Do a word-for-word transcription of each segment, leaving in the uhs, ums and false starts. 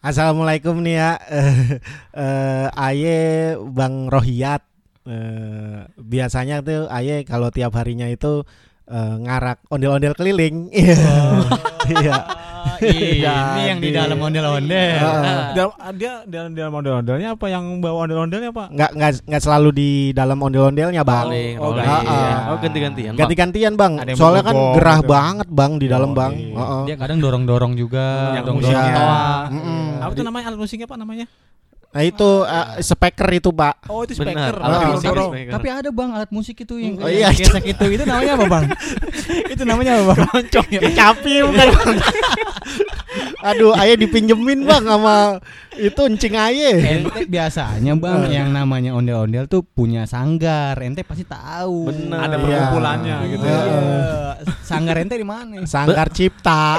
Assalamualaikum nih ya. uh, Aye Bang Rohiyat. Uh, biasanya tuh Aye kalau tiap harinya itu uh, ngarak ondel-ondel keliling. Iya. Iya, ini yang di dalam ondel-ondel. Uh, dia dalam dalam ondel-ondelnya apa, yang bawa ondel-ondelnya Pak? Nggak nggak nggak selalu di dalam ondel-ondelnya Bang. Rolling, Oh, rolling. uh, uh. Oh ganti-gantian. Bang. Ganti-gantian Bang. Ada yang Soalnya kan bergobong gerah gitu. banget Bang di dalam Oh, Bang. iya. Uh-uh. Dia kadang dorong-dorong juga, Yang dorong-dorong musiknya. toa. Mm-mm. Apa tuh namanya alat musiknya Pak namanya? Nah itu uh, speaker itu Pak. Oh itu Benar. speaker. Alat Ah, musik dorong. speaker. Tapi ada Bang alat musik itu yang Oh, iya. gesek itu. Itu namanya apa Bang? Itu namanya apa Bang? Loncong ya. Kecapi bukan Bang. Aduh, Aye dipinjemin Bang sama itu encing Aye. Ente biasanya Bang yang namanya ondel-ondel tuh punya sanggar. Ente pasti tahu. Benar. Ada Iya. perkumpulannya gitu ya. Iya. Sanggar ente di mana? Sanggar Cipta.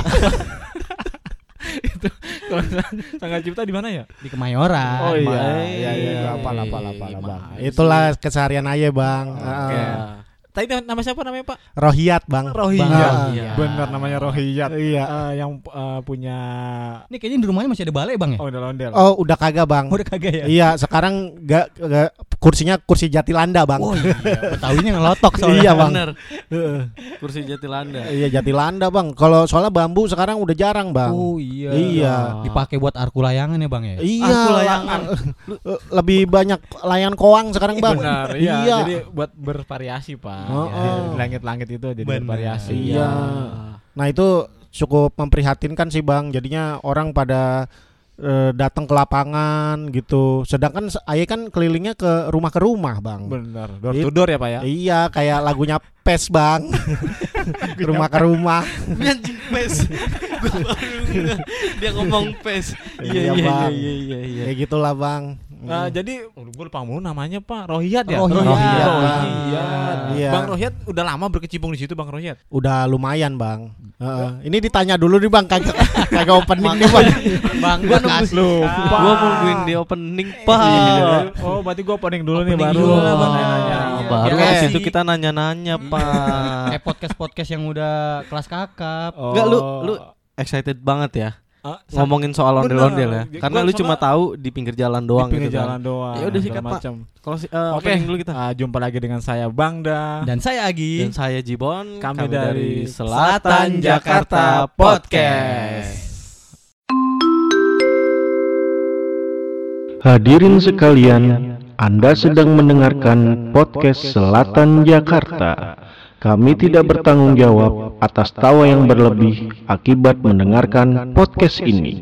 Itu kalau Sanggar Cipta di mana ya? Di Kemayoran. Oh iya. Bang. Iya iya. Apa apa apa Bang. Itulah keseharian Aye Bang. Oke. Uh, Tadi nama siapa namanya Pak? Rohiyat Bang. Rohiyat. Bang. Iya. Benar namanya Rohiyat. Iya. Eh, yang eh, punya Ini kayaknya di rumahnya masih ada balai Bang ya? ondel-ondel. Oh, udah kagak Bang. Udah kagak ya? Iya, sekarang gak, gak kursinya kursi Jatilanda Bang. Oh iya, Betawinya ngelotok soalnya. Iya, Bang. Bener. Heeh. Kursi Jatilanda. Iya Jatilanda Bang. Kalau soalnya bambu sekarang udah jarang Bang. Oh iya. Iya. Dipakai buat arku layangan ya Bang ya? Iya, Aku la- layangan. eh, lebih banyak layan koang sekarang Bang. Benar, iya. Iya. Jadi buat bervariasi Pak. Oh, Ya, oh. di langit-langit itu jadi Benar. bervariasi. Iya. Nah itu cukup memprihatinkan sih Bang. Jadinya orang pada eh, datang ke lapangan gitu. Sedangkan se- Aye kan kelilingnya ke rumah ke rumah Bang. Benar. Door It- to door ya Pak ya. Iya kayak lagunya Pes Bang. Ke rumah ke rumah. Anjing pes. Gua baru ngeh. Dia ngomong pes. Iya, Iya iya Bang. iya iya iya. Kayak gitulah Bang. Nah, jadi oh, gue lupa mulu namanya Pak Rohiyat ya. Rohiyat. Rohiyat, Bang. Rohiyat. Iya. Bang Rohiyat udah lama berkecimpung di situ Bang Rohiyat. Udah lumayan Bang. Heeh. Ini ditanya dulu nih Bang kagak kagak opening nih Bang. Bang, Gua gua nunggu kasih. Lupa. Gua nungguin di opening Pak. Iya. Oh, berarti gue opening dulu nih Opening baru. dulu lah, Bang. nanya-nanya. Iya. Baru Biar habis kasih. itu kita nanya-nanya Pak. Eh podcast-podcast yang udah kelas kakap. Oh. Enggak lu lu excited banget ya Ah, sa- ngomongin soal ondel-ondel ya. Bener. Karena Gua lu sama- cuma tahu di pinggir jalan doang di pinggir gitu jalan kan. doang. Ya udah sikat, segala Pak. macam. Kalau si, uh, Oke, opening dulu kita. Ah, jumpa lagi dengan saya Bangda. Dan saya Agi. Dan saya Jibon, Kami kami, dari dari Selatan Selatan Jakarta Jakarta Podcast. Hadirin sekalian, Anda sedang mendengarkan podcast Selatan Jakarta. Kami tidak bertanggung jawab atas tawa yang berlebih akibat mendengarkan podcast ini.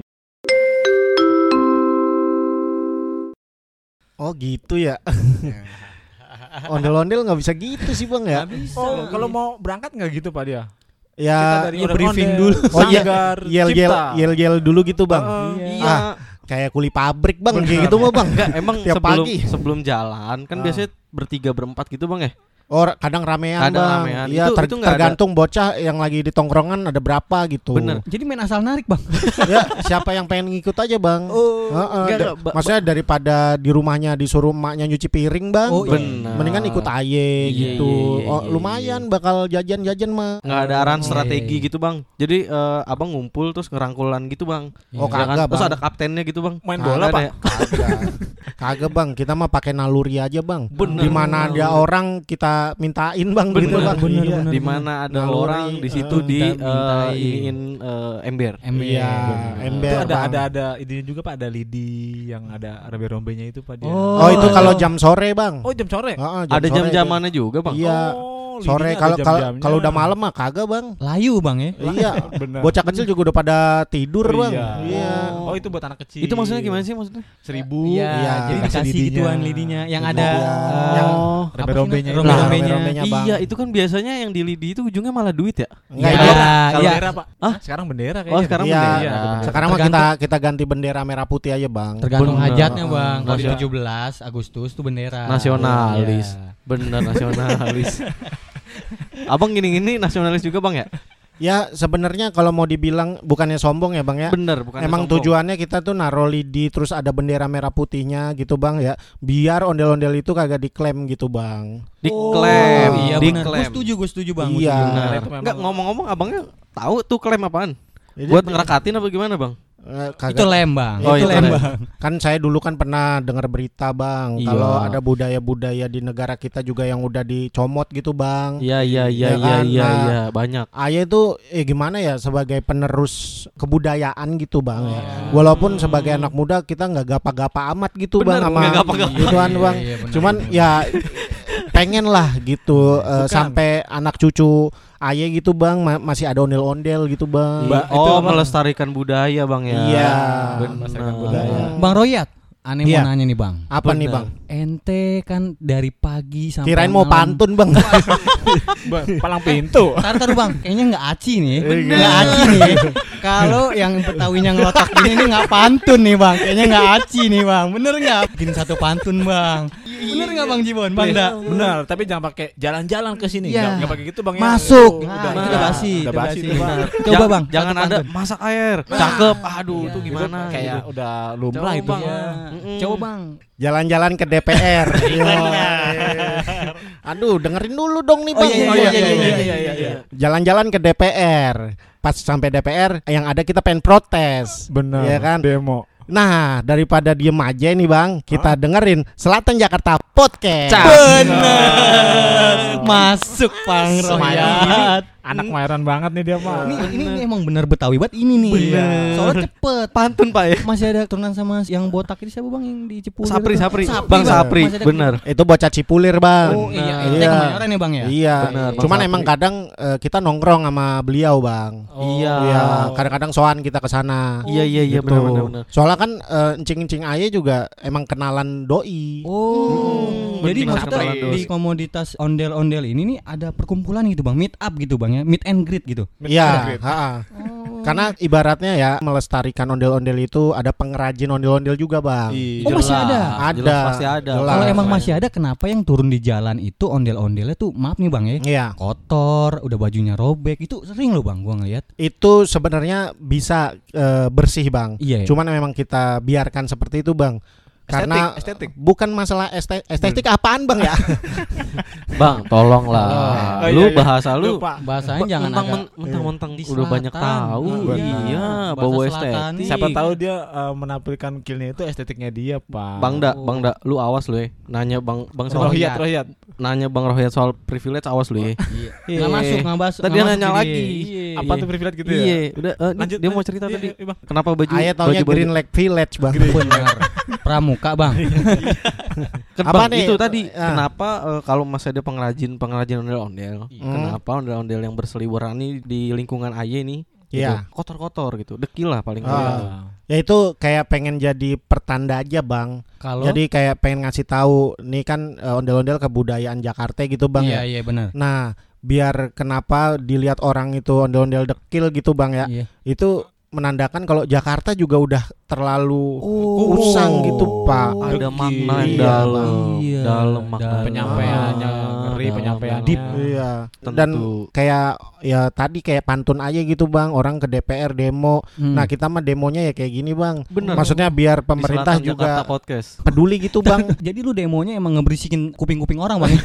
Oh gitu ya. Ondel-ondel nggak bisa gitu sih Bang ya. Oh, kalau mau berangkat nggak gitu Pak dia? Ya Kita dari briefing ondel-ondel, dulu. Oh iya, Sanggar, yel yel Cipta. yel yel dulu gitu Bang. Oh, Iya. Ah, kayak kuli pabrik Bang, kayak gitu mah Bang. Enggak, emang Tiap sebelum pagi. sebelum jalan kan Ah. biasanya bertiga berempat gitu Bang ya. Oh kadang ramean Kadang Bang. ramean. Iya Itu- ter- itu nggak ada. tergantung bocah yang lagi di tongkrongan ada berapa gitu. Bener. Jadi main asal narik Bang. Ya siapa yang pengen ngikut aja Bang. Oh, Heeh, enggak, da- enggak, ba- maksudnya daripada di rumahnya disuruh emaknya nyuci piring Bang. Oh, iya. Bener. Mendingan ikut aye Iya, gitu. iya, iya, Oh iya, lumayan bakal jajan-jajan mah. Nggak ada arahan Oh, strategi iya, iya. gitu Bang. Jadi eh, abang ngumpul terus ngerangkulan gitu Bang. Oh, Ya kan? kagak, Terus Bang. ada kaptennya gitu Bang. Main Nggak bola ada Pak. ya? Kagak. Kagak Bang, kita mah pakai naluri aja Bang. Bener. Di mana ada orang kita mintain Bang Bener, gitu Bang. bener, Iya. bener. Di mana ada Naluri, orang di situ eh, di minta- mintain. eh, iniin eh, ember. Ember. Iya, Bener. ember. Itu ada Bang. ada ada idenya juga Pak, ada lidi yang ada rombe-rombenya itu Pak dia. Oh. Oh, itu Oh, kalau iya. jam sore Bang. Oh, jam sore. Heeh, Ada sore jam-jamannya juga Bang. itu. Iya. Oh, Sore lidinya kalau ada kalau jam-jamnya. kalau udah malam mah kagak Bang. Layu Bang ya. Iya. Bener. Bocah kecil juga udah pada tidur Oh, Bang. iya. Iya. Oh, itu buat anak kecil. Itu maksudnya gimana sih maksudnya? Seribu. Iya, Iya, jadi dikasih dikasih lidinya. gituan lidinya yang ada Iya. eh, Yang apa sih rombe-rombenya namanya? itu. Rombe-rombenya. Rombe-rombenya, Bang. Iya, itu kan biasanya yang di lidi itu ujungnya malah duit ya. Enggak, Iya. itu- Kalau Iya. bendera Pak. Hah? Sekarang bendera kayaknya. Oh, sekarang Iya. bendera. Iya, ada bendera. Sekarang mah kita Tergantung- kita ganti bendera merah putih aja Bang. Tergantung Bener. hajatnya Bang. Kalau di Nasional. tujuh belas Agustus tuh bendera. Nasionalis. Iya. Bener nasionalis. Abang gini-gini nasionalis juga Bang ya? Ya sebenarnya kalau mau dibilang bukannya sombong ya Bang ya. Bener, bukan Emang sombong. tujuannya kita tuh naruh lidi terus ada bendera merah putihnya gitu Bang ya. Biar ondel-ondel itu kagak diklaim gitu Bang. diklaim, Oh, iya benar. Gue diklaim. setuju, gue setuju Bang. Gua Iya. setuju. Benar. Itu memang- Enggak, ngomong-ngomong abangnya tahu tuh klaim apaan? Jadi- Buat ngerakatin apa gimana Bang? Eh, kagak. Itu lem bang. Oh, itu itu lem lem. bang. Kan saya dulu kan pernah dengar berita bang, Iya. kalau ada budaya-budaya di negara kita juga yang udah dicomot gitu bang. Iya iya iya Ya iya kan? iya Nah, iya banyak. Ayah itu eh gimana ya sebagai penerus kebudayaan gitu bang ya. Oh. Walaupun sebagai anak muda kita nggak gapa-gapa amat gitu Bener, bang sama nggak gapa-gapa. gituan Iya, bang. iya, benar, Cuman benar. ya pengen lah gitu eh, Bukan. sampai anak cucu ayah gitu bang ma- masih ada ondel-ondel gitu bang. Ba- itu Oh apa? melestarikan budaya bang ya. Iya. Melestarikan Benar. budaya. Bang Royat, aneh Iya. mau nanya nih bang. Apa nih Bener. bang? Ente kan dari pagi sampai Kirain mau malam. pantun bang. Ba- palang pintu. Taruh taruh bang, kayaknya nggak aci nih, Bener. nggak aci nih. Kalau yang Betawinya ngelotak gini nih nggak pantun nih bang, kayaknya nggak aci nih bang. Bener nggak? Bikin satu pantun bang. Bener nggak bang Jibon? Bang Iya, dah. benar, tapi jangan pakai jalan-jalan ke sini. Iya. Nggak nggak pakai gitu bang. ya. Masuk. Itu Nah, udah, itu udah, udah basi, udah itu basi basi. itu, Bang. Coba Ja- bang, jangan satu ada pantun. masak air. Cakep. Aduh Iya. itu Itu gimana? kayak gitu. udah lumrah Coba, itu. Bang. Iya. Mm-mm. Coba bang. Jalan-jalan ke D P R. Iya. Aduh, dengerin dulu dong nih Oh, bang. iya, Oh iya, iya iya, iya iya, iya iya, iya iya. Jalan-jalan ke D P R. Pas sampai D P R, yang ada kita pengen protes. Benar. Iya kan? Demo. Nah, daripada diem aja nih bang, kita dengerin Selatan Jakarta Podcast. Bener. Masuk Bang Royat. Anak Mayoran banget nih dia mah. Ini, ini emang bener Betawi banget ini nih. Bener. Soalnya cepet. Pantun pak ya. Masih ada turunan sama yang botak ini siapa bang yang di Cipulir? Sapri itu? Sapri. Bang Sapri. Masih ada- Bener. Itu bocah Cipulir bang. Oh iya, Iya. ente Kemayoran ya bang ya? Iya. Bener, Bang Cuman Sapri. emang kadang eh, kita nongkrong sama beliau bang. Iya. Iya. Kadang-kadang soan kita ke sana. Iya iya iya Gitu. benar benar benar. Soalnya kan eh, encing-encing aye juga emang kenalan doi. Oh, Hmm, jadi bener, maksudnya kenalan di dos. komoditas ondel-ondel ini nih ada perkumpulan gitu bang, meet up gitu bang ya, meet and greet gitu. Iya, ha-ha. Oh. Karena ibaratnya ya melestarikan ondel-ondel itu ada pengrajin ondel-ondel juga bang. Iya. Oh, masih ada? Ada. Jelas pasti ada. Jelas. Kalau emang Jelas. masih ada, kenapa yang turun di jalan itu ondel-ondelnya tuh maaf nih bang ya, Iya. kotor, udah bajunya robek, itu sering loh bang, gua ngeliat. Itu sebenarnya bisa eh, bersih bang. Iya. Ya? Cuman memang kita biarkan seperti itu bang. Karena estetik. bukan masalah este- estetik apaan bang ya? Bang, tolonglah. Oh, Lu iya, iya. bahasa lu Lupa. Bahasanya Ba- jangan mentang, agak men- mentang-mentang di udah banyak selatan. tahu. Benar. Iya, Bahasa bawa selatan estetik. nih. Siapa tahu dia uh, menampilkan skillnya itu estetiknya dia, Pak. Bang Da, Bang Da, lu awas lu ya. Nanya Bang Bang soal Rohiyat, Rohiyat. nanya Bang Rohiyat soal privilege awas lu ya. Iya. Iya. Nggak masuk, nggak masuk. Tadi nggak dia masuk nanya ini. lagi. Iya. Apa tuh privilege gitu ya? Iya, udah eh, nih, Lanjut. dia mau cerita Iya, tadi. iya, Bang. Kenapa baju Ayah taunya baju- Green Lake Village bang. Benar. Pramuka bang. Kan Apa Bang, nih? itu tadi Ah. kenapa eh, kalau masih ada pengrajin pengrajin ondel-ondel, Hmm. kenapa ondel-ondel yang berseliweran ini di lingkungan Aye nih gitu, Iya. kotor-kotor gitu, dekil lah paling Ah. enggak. Ya itu kayak pengen jadi pertanda aja bang. Kalau Jadi kayak pengen ngasih tahu nih kan eh, ondel-ondel kebudayaan Jakarta gitu bang iya ya. iya benar. Nah biar kenapa dilihat orang itu ondel-ondel dekil gitu bang ya. Iya. Itu menandakan kalau Jakarta juga udah terlalu Oh. usang gitu pak. Ada Dekil. makna yang Iya, dalam, Iya. dalam makna Dalam. Penyampaiannya Ah, ngeri, dalam, penyampaiannya. dalam. Deep. Iya. Tentu. Dan kayak ya tadi kayak pantun aja gitu bang. Orang ke D P R demo. Hmm. Nah kita mah demonya ya kayak gini bang. Bener. Maksudnya biar Di pemerintah Selatan Jakarta juga podcast. peduli gitu bang. Jadi lu demonya emang ngeberisikin kuping-kuping orang bang?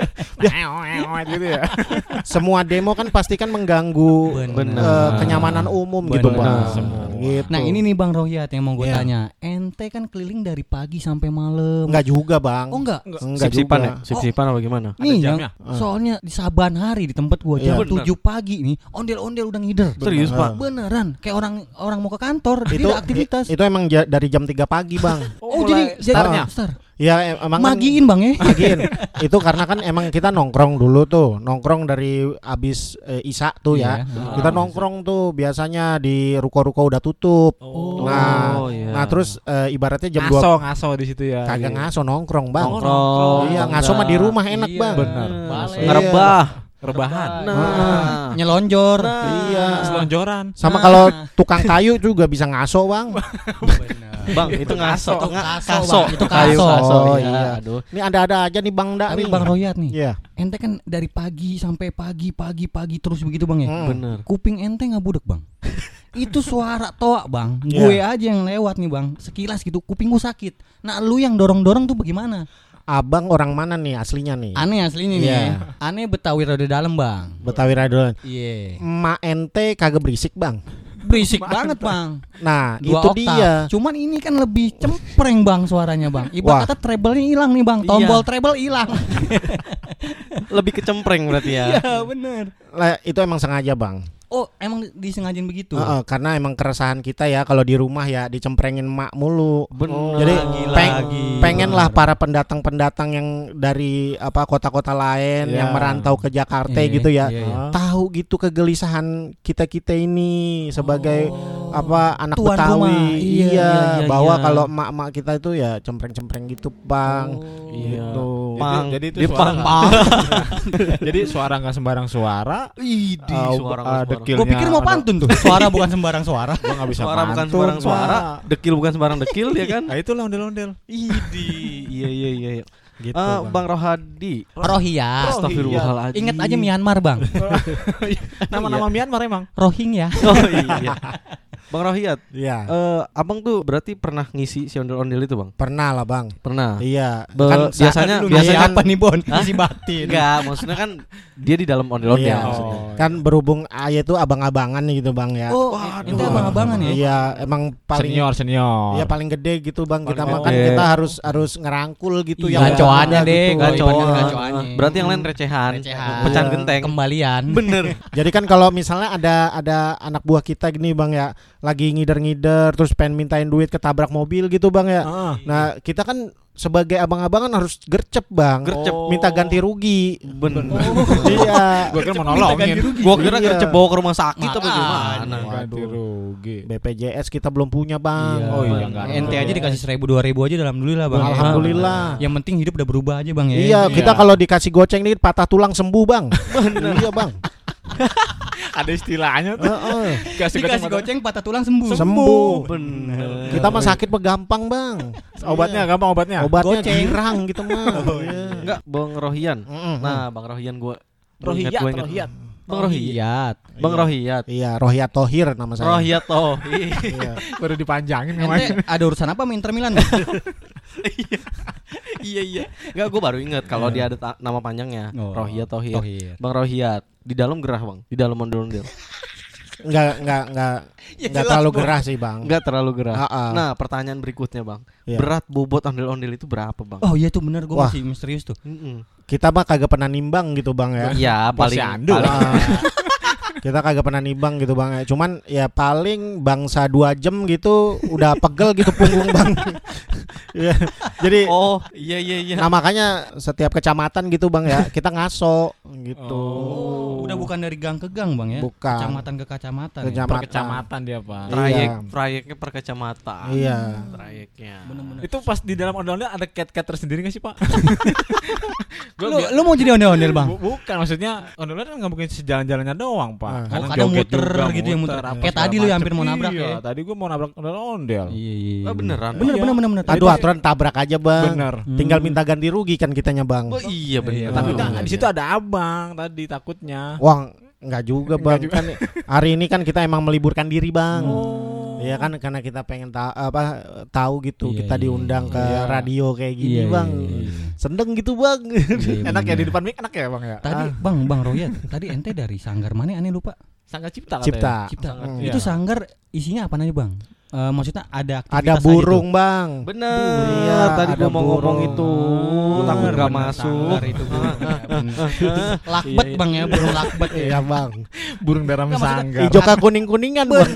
gitu ya. Semua demo kan pasti kan mengganggu Bener. eh, kenyamanan umum gitu Bener. bang. Semua. Gitu. Nah ini nih bang Rohiyat yang mau gue Iya. tanya. Ente kan keliling dari pagi sampai malam. Enggak juga bang. Oh enggak. Enggak Sip-sipan juga. ya? Sip-sipan apa gimana? Nih Ada yang, jamnya? soalnya di Saban hari di tempat gua jam Iya. tujuh pagi nih ondel-ondel udah ngider. Serius, Bener. Pak? Beneran kayak orang orang mau ke kantor dia Itu ada aktivitas. i- itu emang ja- dari jam tiga pagi bang. Oh, jadi jadi startnya. star. Ya em- emang kan- Magiin bang ya. Magiin. Itu karena kan emang kita nongkrong dulu tuh, nongkrong dari abis eh, Isya tuh ya. Iya. Kita nongkrong tuh biasanya di ruko-ruko udah tutup. Oh. Nah, iya. nah terus eh, ibaratnya jam ngaso, dua ngaso di situ ya. kagak Iya. ngaso nongkrong bang. Nongkrong. Iya, Bang ngaso mah Da. di rumah enak Iya. bang. Bener. Balai. Ngerebah. Rebahan. Nah. Nyelonjor. Iya. Selonjoran. Sama Nah. kalau tukang kayu juga bisa ngaso bang. Bang, itu ngaso. Itu Nga- kaso, kaso. Bang. Itu Kayu kaso. kaso. Oh, Iya. iya. Aduh. Ini ada-ada aja nih bang Da Tapi nih. bang Royat nih. Iya. Ente kan dari pagi sampai pagi pagi pagi terus begitu bang ya. Hmm. Bener. Kuping ente nggak budek bang. Itu suara toa bang. Iya. Gue aja yang lewat nih bang. Sekilas gitu kuping gue sakit. Nah lu yang dorong-dorong tuh bagaimana? Abang orang mana nih aslinya nih? Aneh aslinya nih. Iya. Aneh Betawi rada dalam bang. Betawi Radon. Iya. Emak ente kagak berisik bang. berisik banget bang. Nah, Dua itu oktav. dia. Cuman ini kan lebih cempreng bang suaranya bang. Wah. Ibarat kata treble-nya hilang nih bang. Tombol treble hilang. Lebih kecempreng berarti ya. Iya bener. Lah, itu emang sengaja, Bang. Oh emang disengajain begitu. Heeh, karena emang keresahan kita ya kalau di rumah ya dicemprengin mak mulu. Bener. Jadi Gila, peng- gila. pengen lah para pendatang-pendatang yang dari apa kota-kota lain Ya. yang merantau ke Jakarta Iya, gitu ya. iya, iya. Tahu gitu kegelisahan kita-kita ini sebagai apa anak Tuan Betawi. rumah. Iya, Iya, iya, iya, bahwa iya. kalau emak-emak kita itu ya cempreng-cempreng gitu, Bang. Iya. Gitu. Pang. Jadi itu Dia suara pang. nggak- Jadi suara nggak sembarang suara. Idi, Uh, suara uh, nggak sembarang. dekilnya Gue pikir mau ada- pantun tuh. Suara bukan sembarang suara. Gua nggak bisa Suara bukan pantun, sembarang suara, Pak. dekil bukan sembarang dekil ya kan? Nah itu lah ondel-ondel. Idi. Iya iya iya. iya. Gitu, Ah, Bang. Bang Rohadi. Rohiyat. Astagfirullahaladzim. Ingat aja Myanmar bang. Nama-nama Myanmar emang. Rohingya. Oh iya. Bang Rohiyat, Iya. eh, abang tuh berarti pernah ngisi si ondel-ondel itu bang? Pernah lah, Bang. Pernah. Iya. Be- Kan sa- biasanya- dulu biasanya kan- apa nih Bon? Hah? Isi batin. Enggak, maksudnya kan dia di dalam ondel-ondel Iya. maksudnya. kan berhubung ayah itu abang-abangan gitu, Bang ya. Oh, Waduh. itu abang-abangan ya? Iya, emang paling Senior senior. Iya paling gede gitu, Bang. Kita Paling makan gede. kita harus harus ngerangkul gitu Iya, yang gacoannya muda deh, gitu. gacoan. Gacoan. gacoannya. Berarti yang lain recehan, Recehan. pecahan Iya. genteng. Kembalian. Bener. Jadi kan kalau misalnya ada ada anak buah kita gini, Bang ya, lagi ngider-ngider terus pengen mintain duit ketabrak mobil gitu, Bang ya. Ah. Nah, kita kan sebagai abang-abangan harus gercep, Bang. Gercep. Minta ganti rugi. Bener. Iya. Gua kira mau nolongin. Gua kira Iya. gercep bawa ke rumah sakit apa Makanya. gimana? Ganti rugi. B P J S kita belum punya, Bang. Oh iya, Bang. nggak ada. Ente aja dikasih seribu dua ribu aja alhamdulillah bang. Alhamdulillah. Yang penting hidup udah berubah aja bang ya. Iya, kita Iya. kalau dikasih goceng dikit patah tulang sembuh, Bang. Iya, Bang. Ada istilahnya tuh. Heeh. Kasih Dikasih goceng. goceng patah tulang sembuh. Sembuh. Bener. Kita mah sakit mah gampang, Bang. Obatnya gampang obatnya. Obatnya Goceng. girang gitu mah. Iya. Enggak, Bang Rohian. Mm-mm. Nah, Bang Rohian gua Rohiyat, gua inget. Rohiyat. Bang Rohiyat. Rohiyat. Bang Rohiyat. Iya, Rohiyat Tohir nama saya. Rohiyat toh. Iya. Baru dipanjangin Ente namanya. ada urusan apa sama Inter Milan? Bang? Iya iya. Enggak, gua baru inget kalau dia ada ta- nama panjangnya. Oh, Rohiyat Tohir. Tohir. Bang Rohiyat. Di dalam gerah, Bang. Di dalam ondel-ondel. Enggak enggak enggak enggak terlalu gerah sih, Bang. Enggak terlalu gerah. Ha-ha. Nah, pertanyaan berikutnya, Bang. Iya. Berat bobot ondel-ondel itu berapa, Bang? Oh iya tuh bener gue Wah. masih misterius tuh. Mm-mm. Kita mah kagak pernah nimbang gitu, Bang ya. Iya, paling Posyandu. paling Ah. Kita kagak pernah nimbang gitu, Bang ya. Cuman ya paling bangsa dua jam gitu udah pegel gitu punggung, Bang. Iya. Jadi Oh, iya iya iya. nah makanya setiap kecamatan gitu, Bang ya, kita ngaso gitu. Oh, udah bukan dari gang ke gang bang ya? Bukan. Kecamatan ke kecamatan. ya? Kecamatan. Per kecamatan dia, Pak. Trayek, Iya. trayeknya per kecamatan. Iya. Trayeknya. Bener-bener. Itu pas di dalam ondel-ondel ada cat-cat tersendiri gak sih, Pak? Lu, lu mau jadi ondel-ondel bang? Bu- bukan, maksudnya ondel-ondel kan nggak mungkin sejalan-jalannya doang, Pak. Ah. Kadang Oh, kadang joget muter juga, gitu ya, muter. apa Kayak segala tadi lu yang macem. hampir mau nabrak Iya, ya. tadi gua mau nabrak ondel-ondel. Iya iya. Oh, beneran. Bener Iya. bener bener bener. Aduh, aturan tabrak aja, Bang. Bener. Tinggal minta ganti rugi kan kitanya, Bang. Oh iya bener. Iya, tapi Oh, kan iya, di situ ada abang tadi takutnya. Wah, enggak juga, Bang. Enggak Kan hari ini kan kita emang meliburkan diri, Bang. Oh. Iya kan karena kita pengen ta- apa tahu gitu, Iya, kita iya, diundang iya. ke Iya. radio kayak gini, Iya, iya, Bang. iya. Sendeng gitu, Bang. Enak ya di depan mic enak ya, Bang ya? Tadi Ah. bang bang Royat, tadi ente dari sanggar mana aneh lupa? Sangga Cipta katanya. Cipta. Cipta. Hmm. Itu Iya. sanggar isinya apa aja bang? Eh, maksudnya ada aktivitas Ada aja burung, Bang. Bener. Iya, tadi ada gua mau ngomong burung. itu. tuh. Takut Bener, gak bener, masuk. sanggar itu burung. Ya, bener. Lakbet Iya, iya. bang ya, burung lakbet ya. Iya, Bang. Burung dalam Nggak, maksudnya sanggar. Hijau kuning-kuningan, Bang.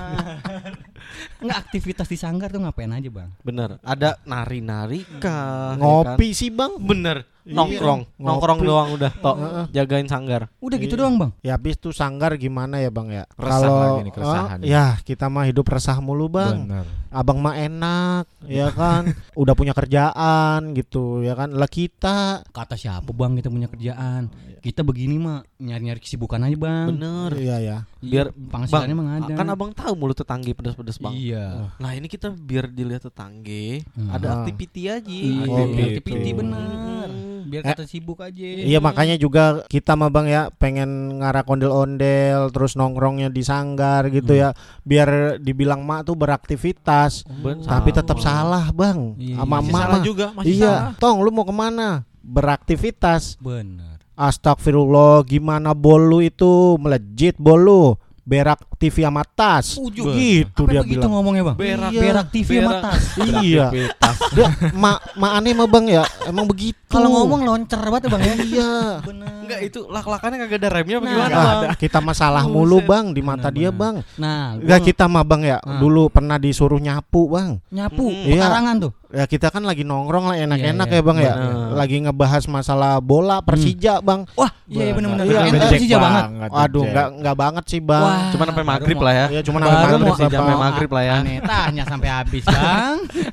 Enggak, aktivitas di sanggar tuh ngapain aja bang? Bener. Ada nari-nari kah? Ngopi sih, Bang. Bener. Iya. Nongkrong. Ngopi. Nongkrong doang udah. Tok. Heeh. Jagain sanggar. Udah gitu Iya. doang bang. Ya habis tuh sanggar gimana ya, Bang ya? Resah lagi nih, keresahan eh, nih. ya kita mah hidup resah mulu, Bang. Bener. Abang mah enak, ya kan? Udah punya kerjaan gitu, ya kan? Lah kita Kata siapa bang kita punya kerjaan? Kita begini mah nyari-nyari kesibukan aja bang. Bener. iya ya. Biar penghasilannya emang ada. Kan abang tahu mulut tetangga pedes-pedes, Bang. Iya. Nah ini kita biar dilihat tetangga Hmm. ada Ah. activity aja. Iya, Oh, aktiviti gitu. bener. Biar Eh, kata sibuk aja. Iya makanya juga kita mah Bang ya pengen ngarak ondel-ondel terus nongkrongnya di sanggar gitu Hmm. ya biar dibilang mak tuh beraktivitas Ben- tapi tetap salah Bang Iya, sama Masih emak salah mah. juga, masih Iya, salah. Tong lu mau kemana? Beraktivitas. Bener. Astagfirullah, gimana bolu itu melejit bolu berak T V sama tas. Ujuk. Gitu Apa dia begitu bilang. ngomongnya bang? Berak. Iya. Berak T V sama Berak. tas. Iya. Dia mak mak aneh mah bang ya. Emang begitu. Kalau ngomong loncer banget ya bang ya. Iya. Bener. Enggak, itu lak-lakannya kagak ada remnya Nah, bagaimana Nggak bang? ada. Kita masalah Buset. mulu bang di mata Bener, dia bener. bang. Nah, Enggak, gua kita mah bang ya Ah. dulu pernah disuruh nyapu bang. nyapu Mm-mm. Iya. pekarangan tuh. Ya kita kan lagi nongkrong lah enak-enak Iya, iya. ya bang ya. Bener. Lagi ngebahas masalah bola Persija bang. Wah, iya benar-benar. Iya, Ente ngejek Persija banget. Aduh nggak nggak banget sih bang. Wah. Cuma sampai baru maghrib mau- lah ya. Ya cuma Baru sampai mau maghrib sampai Bang. maghrib lah ya. Aneh tanya sampai habis bang.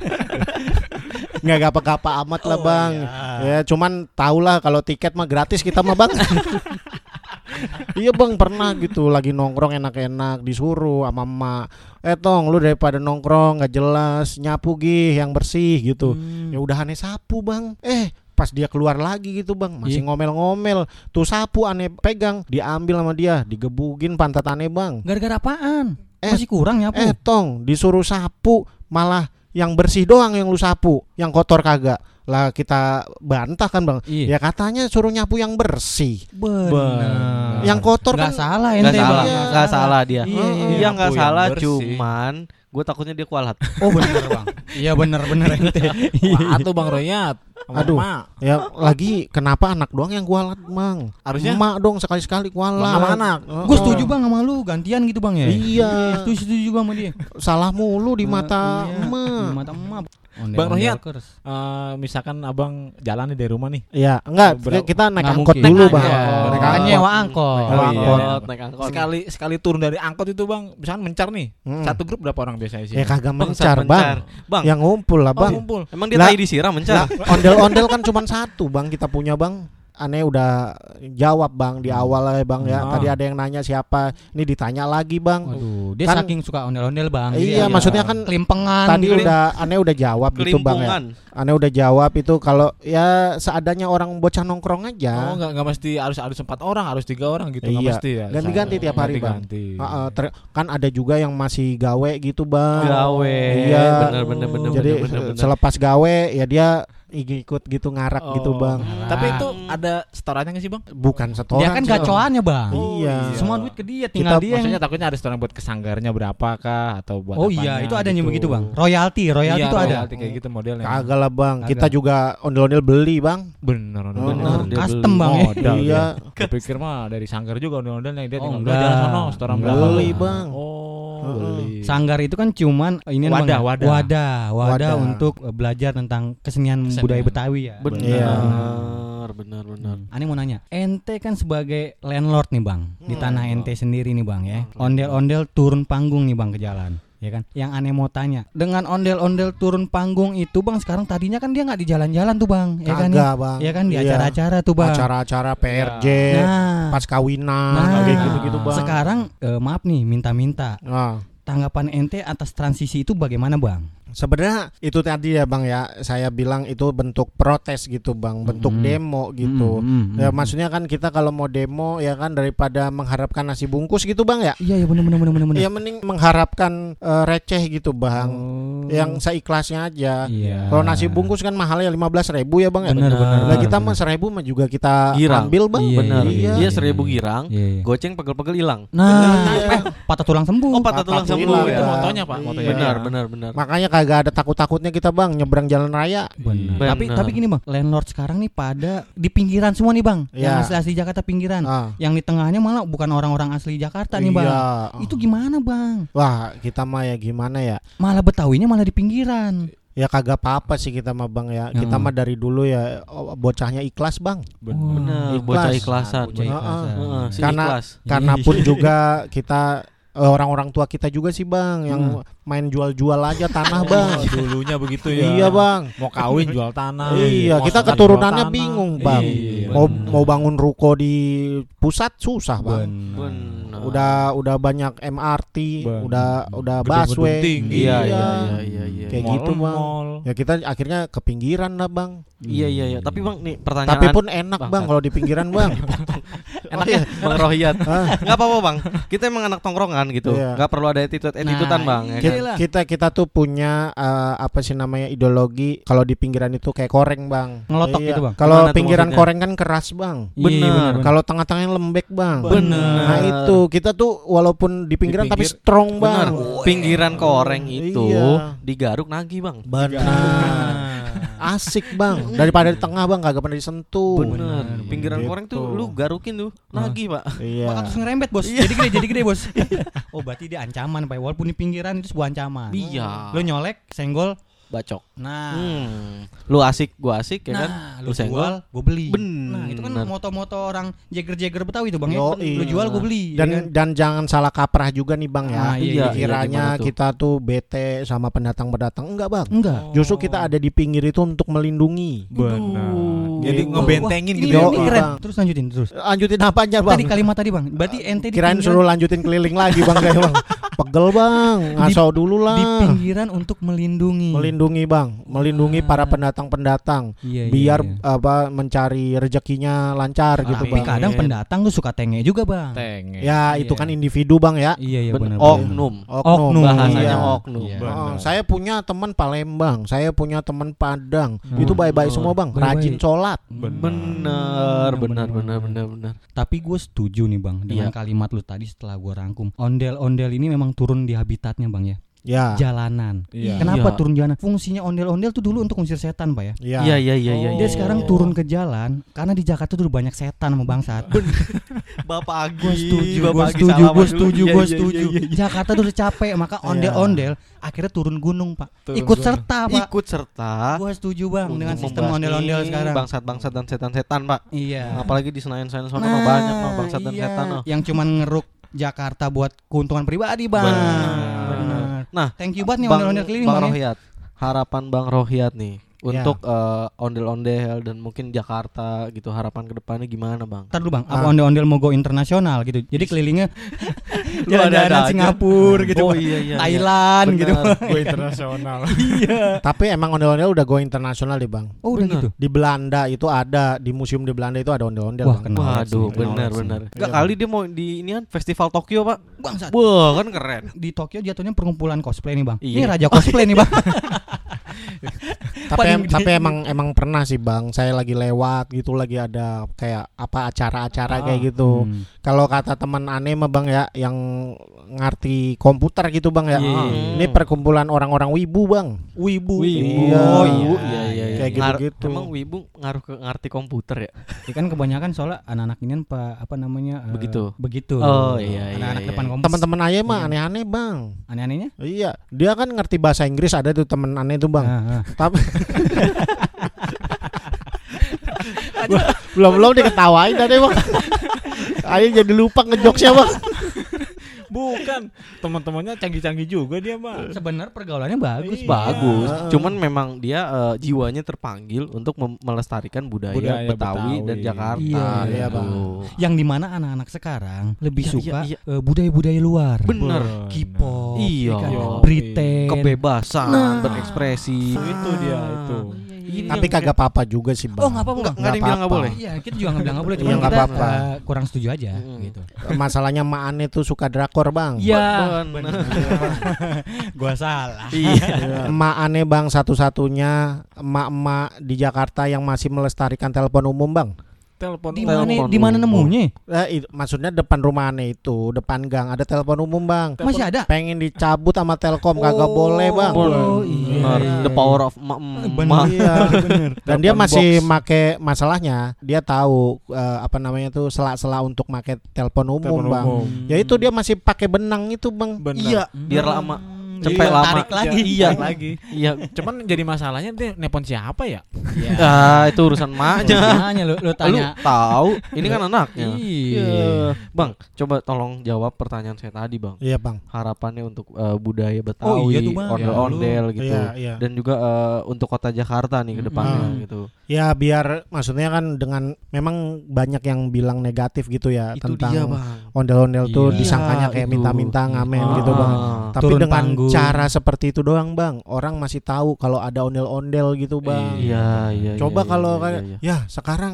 Nggak gapa-gapa amat lah Oh, bang. Ya cuman tahulah kalau tiket mah gratis kita mah bang. Iya bang, pernah gitu lagi nongkrong enak-enak disuruh sama emak, eh tong lu daripada nongkrong nggak jelas nyapu gih yang bersih gitu. Hmm. Ya udah aneh sapu bang. Eh pas dia keluar lagi gitu bang, masih Iya. ngomel-ngomel. Tuh sapu aneh pegang, diambil sama dia, digebugin pantat aneh bang. Gara-gara apaan? Eh, Masih kurang nyapu. Eh tong disuruh sapu malah yang bersih doang yang lu sapu, yang kotor kagak. Lah kita bantah kan bang. Iya. Ya katanya suruh nyapu yang bersih. Bener. Yang kotor Nggak kan salah Nggak ente salah, bang. nggak salah dia. Iya, iya. Iya nggak Nyapu yang salah, bersih. cuman gue takutnya dia kualat. Oh bener bang. Iya bener bener ente. Wah, tuh Bang Royat. Sama Aduh. emak. Ya lagi kenapa anak doang yang kualat bang? Harusnya emak dong sekali-sekali kualat. sama anak. Heeh. Gue setuju bang sama lu, gantian gitu bang ya. Iya. Setuju setuju juga sama dia. Salah mulu di mata Iya, emak. Di mata emak. Bang Royat. Ondel-ondel Eh, misalkan abang jalan nih dari rumah nih. Iya, enggak Berapa- kita naik Nggak angkot mungkin. dulu Naik bang. angkot. Oh, naik Kan angkot. nyewa angkot. Naik Oh, iya. angkot. naik angkot. Sekali sekali turun dari angkot itu bang, misalkan mencar nih. Hmm. Satu grup berapa orang biasanya sih? Ya kagak Bangsat, mencar bang. Bang, Yang ngumpul lah Oh, bang. kumpul. emang dia Lah- tai disiram mencar. Lah, ondel-ondel kan cuma satu bang kita punya bang. Aneh udah jawab bang di awal ya bang ya. Ah. Tadi ada yang nanya siapa. Ini ditanya lagi bang. Waduh, dia Kan- saking suka ondel-ondel bang. Iya, Jadi maksudnya ya, kan kelimpengan. Tadi gitu. udah aneh udah jawab gitu bang ya. Kelimpungan. Aneh udah jawab itu kalau ya seadanya orang bocah nongkrong Oh, aja. enggak enggak mesti harus harus empat orang, harus tiga orang gitu, enggak Iya. mesti ya. Ganti-ganti tiap hari, Bang. Ganti-ganti. Heeh, ter- kan ada juga yang masih gawe gitu bang. Gawe. Iya. Bener bener bener Jadi bener bener. bener. selepas gawe ya dia ikut gitu ngarak Oh. gitu bang. Tapi itu ada setorannya nggak sih bang? Bukan setoran. Dia kan sih, Bang. gacoannya bang. Iya. Semua duit ke dia, tinggal Kita- dia yang. Maksudnya takutnya ada setoran buat kesanggarnya berapa kah atau buat Oh apanya iya, itu adanya gitu. begitu bang. Royalti, royalti Iya, itu ada. royalti kayak gitu modelnya. Kagak lah bang. Kagak. Kita juga ondel-ondel beli bang. Bener, bener, Oh, bener. dia Custom beli bang ya. Modal Iya. dia. Kupikir mah dari sanggar juga ondel-ondelnya dia Oh, tinggal enggak. udah jalan sono setoran Enggak. berapa. Beli, Bang. Oh, Heeh. beli. Sanggar itu kan cuman ini Wadah, namanya, wadah. wadah, wadah Wadah. untuk eh, belajar tentang kesenian, Kesenian. budaya Betawi ya. Iya. Bener bener bener. Aneh mau nanya, ente kan sebagai landlord nih bang, di tanah ente sendiri nih bang ya, ondel-ondel turun panggung nih bang ke jalan, ya kan? Yang aneh mau tanya, dengan ondel-ondel turun panggung itu bang, sekarang tadinya kan dia nggak di jalan-jalan tuh bang, ya kan? Kagak bang. Ya kan di Iya. acara-acara tuh bang. Acara-acara P R J, Nah, pas kawinan, nah, kayak gitu-gitu bang. sekarang eh, maaf nih, minta-minta. Nah, Tanggapan ente atas transisi itu bagaimana bang? sebenarnya itu tadi ya bang ya, saya bilang itu bentuk protes gitu bang, bentuk Mm-mm. demo gitu. Hmm, hmm, Ya hmm. maksudnya kan kita kalau mau demo ya kan daripada mengharapkan nasi bungkus gitu bang ya. Iya ya benar benar benar benar. Ya mending mengharapkan eh, receh gitu bang, Oh. yang seikhlasnya aja. Iya. Kalau nasi bungkus kan mahalnya lima belas ribu ya bang ya. Bener, bener, Lah kita bener. mah seribu mah juga kita Girang. ambil bang. Iya, Bener. Iya. Iya seribu girang. Iya, iya. Goceng pegel-pegel hilang. Nah, eh, patah tulang sembuh. Oh patah tulang Patah sembuh tulang, itu ya. motonya pak, motonya. Iya. Benar benar benar. Makanya kagak ada takut-takutnya kita bang nyebrang jalan raya. Benar. Benar. Tapi tapi gini bang, landlord sekarang nih pada di pinggiran semua nih bang, yang Iya. asli asli Jakarta pinggiran, Ah. yang di tengahnya malah bukan orang-orang asli Jakarta nih bang. Iya. Itu gimana bang? Wah kita mah ya gimana ya. Malah Betawinya malah di pinggiran. Ya kagak apa-apa sih kita mah bang ya. Kita Hmm. mah dari dulu ya oh, bocahnya ikhlas bang. Bener. Ikhlas. Bocah ikhlasan. Bocah Heeh. ikhlasan. Heeh, si Karena ikhlas. karena pun juga kita eh, orang-orang tua kita juga sih bang yang main jual-jual aja tanah bang. Oh, dulunya begitu ya. Iya bang. Mau kawin jual tanah. Iya, Mau kita sunat keturunannya jual tanah. bingung bang. Iya, Mau bener. mau bangun ruko di pusat susah bang. Bener. Udah udah banyak M R T, Bener. udah udah Gedung-gedung busway. tinggi. Iya iya iya iya iya. Kayak Mall, gitu bang. mall. Ya kita akhirnya ke pinggiran lah bang. Iya iya iya. Tapi bang nih pertanyaan. Tapi pun enak bang Bangsat. kalau di pinggiran bang. Enaknya Bang Rohiyat. Ah. Enggak apa-apa, Bang. Kita emang anak tongkrongan gitu. Iya. Enggak perlu ada attitude-attitudean, Nah, Bang. Ya iya. kan? Kita, kita kita tuh punya uh, apa sih namanya ideologi kalau di pinggiran itu kayak koreng bang. Ngelotok Iya. gitu, Bang. Kalau Gimana tuh pinggiran maksudnya? koreng kan keras bang. Iya, Bener. bener, bener. Kalau tengah-tengahnya lembek bang. Bener. Nah itu kita tuh walaupun di pinggiran tapi pinggir. strong Benar. bang. Pinggiran koreng itu Iya. digaruk nagih, Bang. Benar. Asik bang. Daripada di tengah bang kagak pernah disentuh. Bener. Pinggiran Gitu. koreng tuh lu garukin tuh nagih, Pak. Iya. Bakal terus ngerembet bos. Jadi gede, jadi gede bos. Oh berarti dia ancaman pak. Walaupun di pinggiran itu sebuah ancaman. Iya. Lo nyolek, senggol. Bacok. Nah, Hmm. Lu asik, gua asik ya kan? nah, Lu lu senggol. jual, gue beli. Bener. Nah itu kan moto-moto orang jeger-jeger Betawi itu bang ya. Yoi. Lu jual, gue beli. Dan ya kan? dan jangan salah kaprah juga nih bang ya. Ah, iya, iya, Kiranya gimana tuh? kita tuh bete sama pendatang-pendatang enggak bang. Enggak. Justru kita ada di pinggir itu untuk melindungi. Benar. Jadi Gitu. ngebentengin Wah, gitu ini, ya. ini Yo, keren. Bang. Terus lanjutin terus. Lanjutin apa aja bang? Tadi kalimat tadi bang. Berarti ente di Kirain pinggiran, suruh lanjutin keliling lagi bang kayak bang. Pegel bang, ngaso dulu lah. di pinggiran untuk melindungi. Melindungi bang, melindungi Ah. para pendatang-pendatang Iya, iya, biar iya. apa mencari rezekinya lancar gitu Tapi bang. kadang pendatang tuh suka tenge juga bang. Tenge. Ya Iya. itu kan individu bang ya. Iya iya Bener. benar. Oknum. Oknum. Bahasanya iya. oknum. Iya. Oh, Benar. saya punya teman Palembang, saya punya teman Padang, Hmm. itu baik-baik semua bang, Baik-baik. rajin sholat. Bener, bener, bener, bener, bener. Tapi gue setuju nih bang dengan Iya. kalimat lu tadi setelah gue rangkum. Ondel-ondel ini memang turun di habitatnya bang ya. Ya, Jalanan. Iya. Kenapa Iya. turun jalanan? Fungsinya ondel-ondel tuh dulu untuk ngusir setan pak ya. ya. Iya, iya, iya, iya. Dia iya. sekarang turun ke jalan karena di Jakarta tuh udah banyak setan sama bangsat. Bapak Agi. Gue setuju, Bapak gue Agi setuju, salaman gue dulu. setuju, Iya, gue iya, setuju. iya, iya. Jakarta tuh udah capek, maka ondel-ondel akhirnya turun gunung pak. Turun Ikut gunung. serta pak. Ikut serta Gue setuju bang untuk dengan sistem membasmi ondel-ondel sekarang. bangsat-bangsat dan setan-setan, Pak. Iya. Apalagi di Senayan-Senayan sana Nah, banyak mah bangsat dan iya. setan oh. Yang cuman ngeruk Jakarta buat keuntungan pribadi bang. Benar. Benar. Nah, Thank you banget nih Bang, ondel-ondel keliling Bang bang ya. Rohiyat. Harapan Bang Rohiyat nih Ya. untuk eh, ondel-ondel dan mungkin Jakarta gitu, harapan kedepannya gimana, Bang? Ntar dulu bang, apa Ah. ondel-ondel mau go internasional gitu. Jadi kelilingnya Lu ada-ada jalan-jalan aja. Singapura gitu, Oh Bang. iya iya. Thailand iya. gitu. Benar. Gue internasional. Iya. Tapi emang ondel-ondel udah go internasional deh bang. Oh udah Bener. gitu. Di Belanda itu ada, di museum di Belanda itu ada ondel-ondel. Wah, Bang. kenal. Waduh, sih, benar sih. benar. Enggak Iya. kali dia mau di inian festival Tokyo, Pak. Bangsat. Wah, kan keren. Di Tokyo jatuhnya perkumpulan cosplay nih bang. Iya. Ini raja cosplay nih bang. Tapi Paling em- gede. tapi emang emang pernah sih bang. Saya lagi lewat gitu lagi ada kayak apa acara-acara kayak gitu. Hmm. Kalau kata teman aneh mah bang ya yang ngerti komputer gitu bang ya. Iya, Ah, iya. Ini perkumpulan orang-orang wibu bang. Wibu. Wibu. Iya. Oh iya, iya iya. iya. Kayak Ngar- gitu-gitu. Emang wibu ngaruh ke ngerti komputer ya? Ya kan kebanyakan soalnya anak-anak ini apa apa namanya eh, Begitu. begitu. Oh, iya, iya, Anak-anak iya. depan komputer. Teman-teman ayah mah Iya. aneh-aneh bang. Aneh-anehnya? Iya, dia kan ngerti bahasa Inggris ada tuh temen aneh tuh bang. Ah, ah. Tapi belum belum diketawain tadi bang. Ayah jadi lupa ngejokesnya bang. Bukan, teman-temannya canggih-canggih juga dia mah. Sebenarnya pergaulannya bagus, Iya. Bang. Bagus. Ah. Cuman memang dia eh, jiwanya terpanggil untuk mem- melestarikan budaya, Budaya Betawi, dan Betawi. Jakarta. Iya, iya, gitu. Bang. Yang dimana anak-anak sekarang lebih Iya, suka iya, eh, budaya-budaya luar. Bener. K-pop, Iya. ya kan? Iya. Briten. Kebebasan Nah. berekspresi. Itu dia itu. Ini Tapi yang- kagak apa-apa juga sih bang. Oh, nggak apa-apa, Nggak, Bang. nggak ada yang bilang nggak boleh. Iya, kita juga nggak bilang nggak boleh, Iya, cuma nggak kita apa-apa. eh, kurang setuju aja Mm-mm. gitu. Masalahnya Mak Ane tuh suka drakor bang. Iya, Bener. gua salah. Iya. Emak Ane bang satu-satunya emak-emak di Jakarta yang masih melestarikan telepon umum bang. Telepon Di Telepon mana di mana umum. nemunya? Eh, itu, maksudnya depan rumah Ane itu, depan gang ada telepon umum bang. Masih ada? Pengen dicabut sama Telkom kagak Oh, boleh bang. Oh, iya. Bener. The power of ma- Bener. ma- Iya. Dan dia Telepon masih box. make masalahnya dia tahu eh, apa namanya tuh sela-sela untuk make telepon umum Telepon bang. umum. Ya itu dia masih pakai benang itu bang. Bener. Iya, biar lama. Hmm, Cepet iya, lama. tarik lagi. Iya. Tarik lagi. Iya. Cuman jadi masalahnya dia nelpon siapa ya? Ah, itu urusan maknya. Tanya lu, lu Lu tanya. tahu, ini kan anaknya. Iya. Bang, coba tolong jawab pertanyaan saya tadi, Bang. Iya bang. Harapannya untuk eh, budaya Betawi, Oh, iya tuh, Bang. ondel-ondel gitu. Iya iya. Dan juga eh, untuk kota Jakarta nih ke depannya Hmm. gitu. Ya biar maksudnya kan dengan memang banyak yang bilang negatif gitu ya Itu tentang dia, Bang. ondel-ondel tuh Iya, disangkanya kayak itu. minta-minta ngamen Ah. gitu bang. Tapi Turun dengan panggung. cara seperti itu doang bang, orang masih tahu kalau ada ondel-ondel gitu bang. Iya, iya. Coba iya, kalau iya, kayak iya, iya. ya sekarang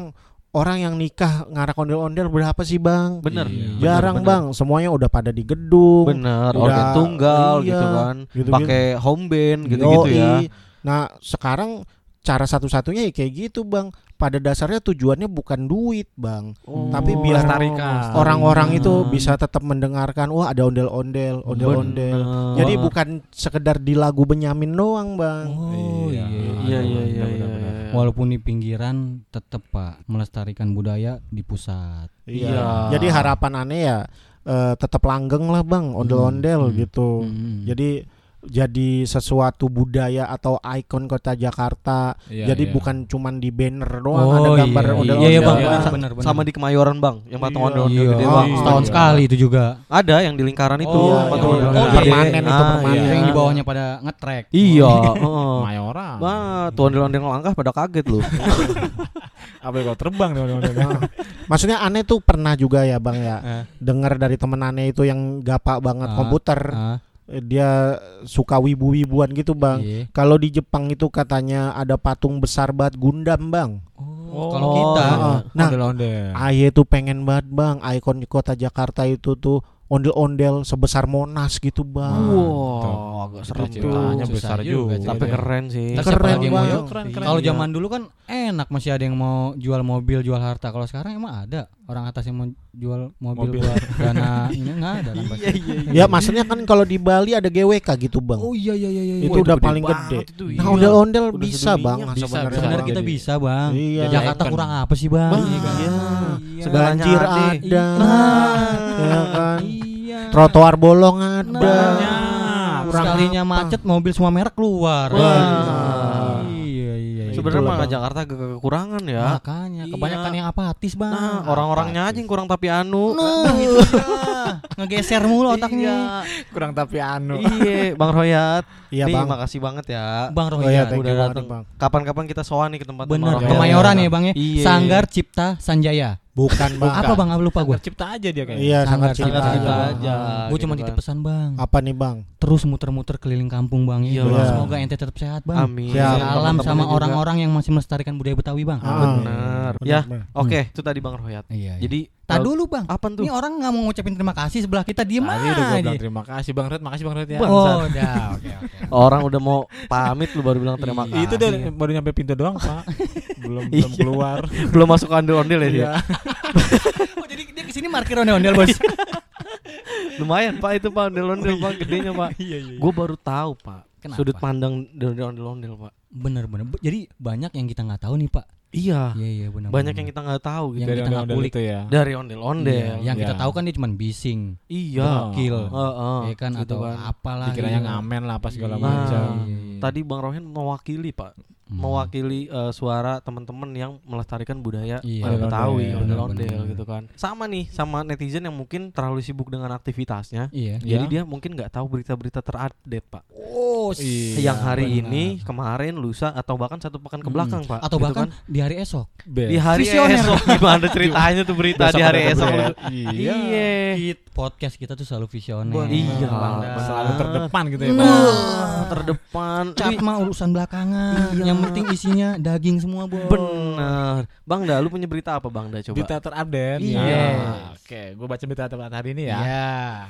orang yang nikah ngarak ondel-ondel berapa sih Bang? Bener. Iya. Jarang bener, Bang, semuanya udah pada di gedung. Bener, Udah- organ tunggal iya, gitu kan. gitu-gitu. Pakai home band gitu-gitu Yoi. ya. Nah, sekarang cara satu-satunya ya kayak gitu Bang. Pada dasarnya tujuannya bukan duit Bang, Oh, tapi biar melestarikan. orang-orang itu melestarikan. bisa tetap mendengarkan, wah ada ondel-ondel, ondel-ondel. Bener. Jadi Wah. bukan sekedar di lagu Benyamin doang Bang. Oh iya. Iya iya iya iya. Walaupun di pinggiran tetap Pak melestarikan budaya di pusat. Iya. Jadi harapan aneh ya eh, tetap langgeng lah Bang, ondel-ondel Hmm. gitu. Hmm. Jadi jadi sesuatu budaya atau ikon kota Jakarta. Iya, Jadi iya. bukan cuman di banner doang Oh, ada gambar iya. ondel-ondel. Iya, iya, Bang. Iya. Benar, benar. Sama di Kemayoran Bang, yang patung Iya. ondel-ondel Iya, gede oh, Bang. setahun Iya. sekali itu juga. Ada yang di lingkaran itu Oh, patung iya. ondel-ondel Oh, gede. permanen itu, Ah, permanen. iya. Yang di bawahnya pada ngetrek. Iya, heeh. Mayora. Wah, tuh ondel-ondel langkah pada kaget loh. Apa kalau terbang nih ondel-ondel. Maksudnya aneh tuh pernah juga ya Bang ya. Eh. Dengar dari temen aneh itu yang gapak banget Ah, komputer. Ah, Eh, Dia suka wibu-wibuan gitu Bang. iya. Kalau di Jepang itu katanya ada patung besar banget Gundam Bang. Oh, kalau Oh, kita Heeh. Nah, Ondel-ondel. Aye tuh pengen banget Bang, ikon kota Jakarta itu tuh ondel-ondel sebesar Monas gitu Bang. Wow, agak serem Itu tuh. ceritanya Susah besar juga juga. sih. Tapi keren sih. Ntar Keren, siapa lagi yang mau Bang. jual? Keren, keren. Kalau Iya. zaman dulu kan enak, masih ada yang mau jual mobil, jual harta. Kalau sekarang emang ada orang atas yang mau jual mobil, Mobil. buat dana ini nggak ada kan pasti. Ya maksudnya kan kalau di Bali ada G W K gitu Bang. Oh iya iya iya iya. Itu udah gede paling banget gede. itu, Nah, iya. ondel-ondel Udah bisa sedunia Bang bisa, sebenarnya. bisa. Sebenarnya Bang. kita Jadi- bisa bang. Iya. Jakarta Icon. kurang apa sih bang? Bang, Iya kan? iya. Iya. Banjir Segalanya ada. ada. Iya. Ya kan? Iya. Trotoar bolong ada. Nah, Kurang sekalinya apa? macet mobil semua merek keluar. Wah. Iya iya. iya. Sebenarnya Itulah, mah Bang. Jakarta ke kekurangan ya. Makanya Iya. kebanyakan yang apatis bang. Nah, orang-orangnya aja yang kurang tapi anu. Nah, itu dia. Ngegeser mulu otaknya. Kurang tapi anu. Iya, Bang Royat. Iya Nih, Bang. makasih banget ya. Bang Oh iya, Rohiyat. thank udah you banget, datang. Bang. Kapan-kapan kita sowan nih ke tempat Bener, Iya, Kemayoran iya. ya bang ya. Iya. Sanggar Cipta Sanjaya. Bukan Bang. Apa bang? Apa lupa gue? Cipta aja dia kayaknya. Iya, Sanggar sangat Cipta cinta Cipta aja. aja. Gue gitu cuma kan. titip pesan bang. Apa nih Bang? Terus muter-muter keliling kampung bang. Iya, Ya. Bang. Semoga ente tetap sehat bang. Amin. Siap. Salam Teman-teman sama juga. orang-orang yang masih melestarikan budaya Betawi bang. Ah. Bener. Bener, Ya, bener. oke, itu tadi Bang Royat. Iya. Jadi tak eh, dulu bang. apa tuh? Ini orang nggak mau ngucapin terima kasih sebelah kita diem Tadi udah gue aja. bilang terima kasih Bang Red, makasih Bang Red ya. Oh, udah. Oke oke. Orang udah mau pamit lu baru bilang terima Iya. kasih. Itu udah baru nyampe pintu doang, Pak. belum Iya. belum keluar. belum masuk ondel-ondel ya dia. Iya. Oh, jadi dia kesini markir ondel-ondel bos. Lumayan Pak itu Pak ondel-ondel Pak gedenya Pak. Iya iya. Gue baru tahu Pak. Kenapa? Sudut pandang dari ondel-ondel Pak. Bener-bener. Jadi banyak yang kita nggak tahu nih pak. Iya. Iya iya benar. Banyak yang kita nggak tahu gitu. Yang Dari kita nggak ondel-ondel kulik. itu ya. Dari ondel-ondel. Iya, yang kita Iya. tahu kan dia cuma bising, Iya. gokil, Heeh. ya kan gitu atau kan. apalah. Dikiranya gitu. ngamen lah apa segala Iya, macam. iya, iya. Tadi Bang Rohin mewakili Pak, Hmm. mewakili eh, suara teman-teman yang melestarikan budaya Iya, eh, Betawi, benar, ondel-ondel benar. gitu kan. Sama nih sama netizen yang mungkin terlalu sibuk dengan aktivitasnya. Iya. Jadi Iya. dia mungkin nggak tahu berita-berita terupdate Pak. Oh, Iya, yang hari benar. ini, kemarin, lusa atau bahkan satu pekan ke Mm-mm. belakang Pak. Atau Gitu bahkan kan. di hari esok. Di hari Visioner. esok gimana ceritanya tuh berita Besok di hari ada esok? berita. lu- Iya. Kit- podcast kita tuh selalu visioner. Benar. Iya, Bang. Selalu terdepan gitu ya, Nah. Pak. Wah, terdepan. Cat Wih, mah urusan belakangan. Iya. Yang penting isinya daging semua, Bos. bener. Bang Da, lu punya berita apa Bang Da coba? Berita terupdate. Iya. Nah, Oke, gue baca berita terupdate hari ini ya. Iya.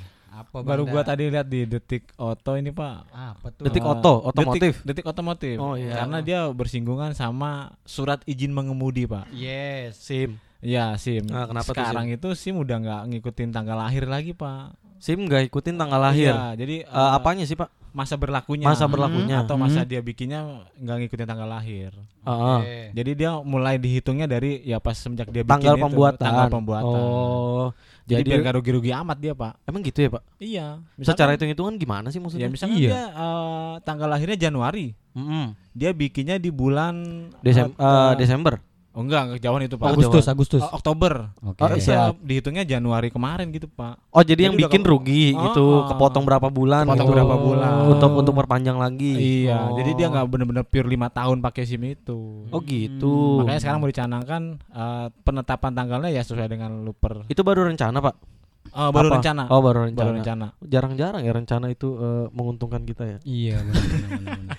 Apa Baru Bang gua Da? tadi lihat di Detik Oto ini, Pak. Apa tuh? Detik Eh, Oto, otomotif. Detik, Detik otomotif. Oh, iya. Karena dia bersinggungan sama surat izin mengemudi, Pak. Yes. SIM. Ya, SIM. Nah, kenapa tuh Sekarang itu SIM udah nggak ngikutin tanggal lahir lagi, Pak. SIM nggak ikutin tanggal lahir. Iya, jadi Eh, eh, apanya sih Pak? masa berlakunya. Masa berlakunya. Atau masa Hmm. dia bikinnya nggak ngikutin tanggal lahir. Heeh. Oke. Jadi dia mulai dihitungnya dari ya pas semenjak dia bikin Tanggal itu, pembuatan. tanggal pembuatan. Oh, jadi, jadi biar nggak rugi-rugi amat dia, Pak. emang gitu ya Pak? Iya. Secara hitung-hitungan gimana sih maksudnya? ya misalnya Iya. dia eh, tanggal lahirnya Januari, Mm-mm. dia bikinnya di bulan Desem- eh, eh, Desember. Oh enggak, enggak jauhan itu, Pak. Agustus, Agustus. Oh, Oktober. Oke. Oh, Itu siap. dihitungnya Januari kemarin gitu, Pak. Oh, jadi, Jadi yang udah bikin ke- rugi Oh, gitu, oh. kepotong berapa bulan Kepotong gitu. berapa bulan. Untuk untuk perpanjang lagi. Iya, Oh. jadi dia nggak bener-bener pure lima tahun pakai SIM itu. Oh gitu. Makanya sekarang mau dicanangkan eh, penetapan tanggalnya ya sesuai dengan luper. Itu baru rencana Pak? Eh, baru Apa? rencana. Oh, baru rencana. Baru rencana. Jarang-jarang ya rencana itu eh, menguntungkan kita ya. Iya, benar benar benar.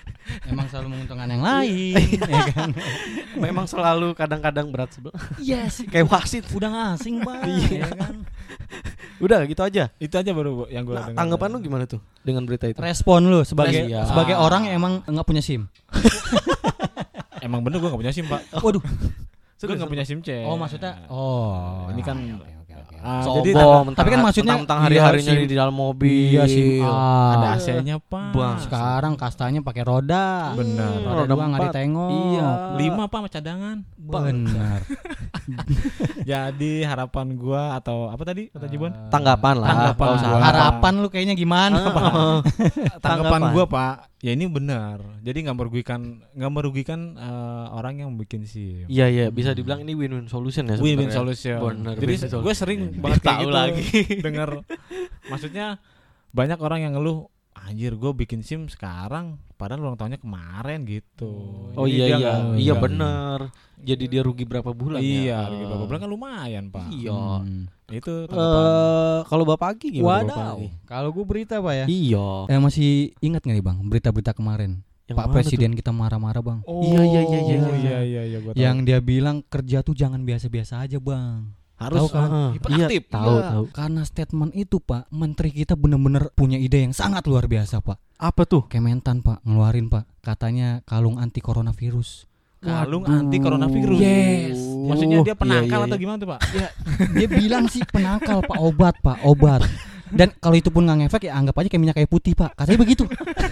Emang selalu menguntungkan yang lain, ya kan? Memang selalu kadang-kadang berat sebelah. Yes, Kayak wasit. udah ngasing bang, Iya. ya kan? Udah gitu aja. Itu aja baru yang gue Nah, dengar. tanggapan lu gimana tuh dengan berita itu? Respon lu sebagai Iya. sebagai orang yang emang nggak punya SIM. Emang bener gue gak punya SIM pak. Waduh. Gue gak punya SIM C. Oh maksudnya, oh ini kan oke, oke, oke. ah, Sombong, jadi mentang- tapi kan maksudnya tentang iya, hari-harinya SIM. di dalam mobil. Iya SIM A. ada A C-nya pak. Bang. Sekarang kastanya pakai roda. Benar. Roda Roda dua nggak empat. ditengok. Iya. Lima pak sama cadangan. Benar. Jadi harapan gue atau apa tadi kata Jibon? Tanggapan lah. Tanggapan Nggak usah gua. Harapan lu kayaknya gimana, Ah, Pak? ah. Tanggapan Tanggapan. gue pak, ya ini benar. Jadi nggak merugikan, nggak merugikan eh, orang yang bikin SIM. Iya iya, bisa dibilang ini win-win solution ya Win-win sebenarnya. solution. Bener, Jadi win-win gue sering banget kayak Tahu gitu lagi. dengar. Maksudnya banyak orang yang ngeluh, anjir gue bikin SIM sekarang, padahal ulang tahunnya kemarin gitu. Oh Jadi iya dia iya, nggak- iya nggak- bener. Jadi dia rugi berapa bulan Iya, ya? rugi berapa bulan kan lumayan pak. Iya. Hmm. Itu tanggapan. Eh, kalau Bapak Agi gimana? Bapak Wadaw. Agi? Kalau gue berita Pak ya. Iya. Eh masih ingat nggak nih Bang berita-berita kemarin? Yang Pak mana Presiden kita marah-marah Bang. Oh, Iya, iya, iya, iya, iya, iya. iya, iya, gua tahu. Yang dia bilang kerja tuh jangan biasa-biasa aja Bang. harus tahu kan? Ah, hiperaktif. Iya, tahu Iya, tahu. Karena statement itu Pak, Menteri kita bener-bener punya ide yang sangat luar biasa Pak. Apa tuh? Kementan Pak ngeluarin Pak, katanya kalung anti coronavirus. Kalung Waduh. anti coronavirus. Yes. Maksudnya dia Iya, penangkal iya, atau iya. gimana tuh pak? Dia bilang sih penangkal Pak, obat Pak, obat. Dan kalau itu pun nggak ngefek ya anggap aja kayak minyak kayu putih Pak. Katanya begitu.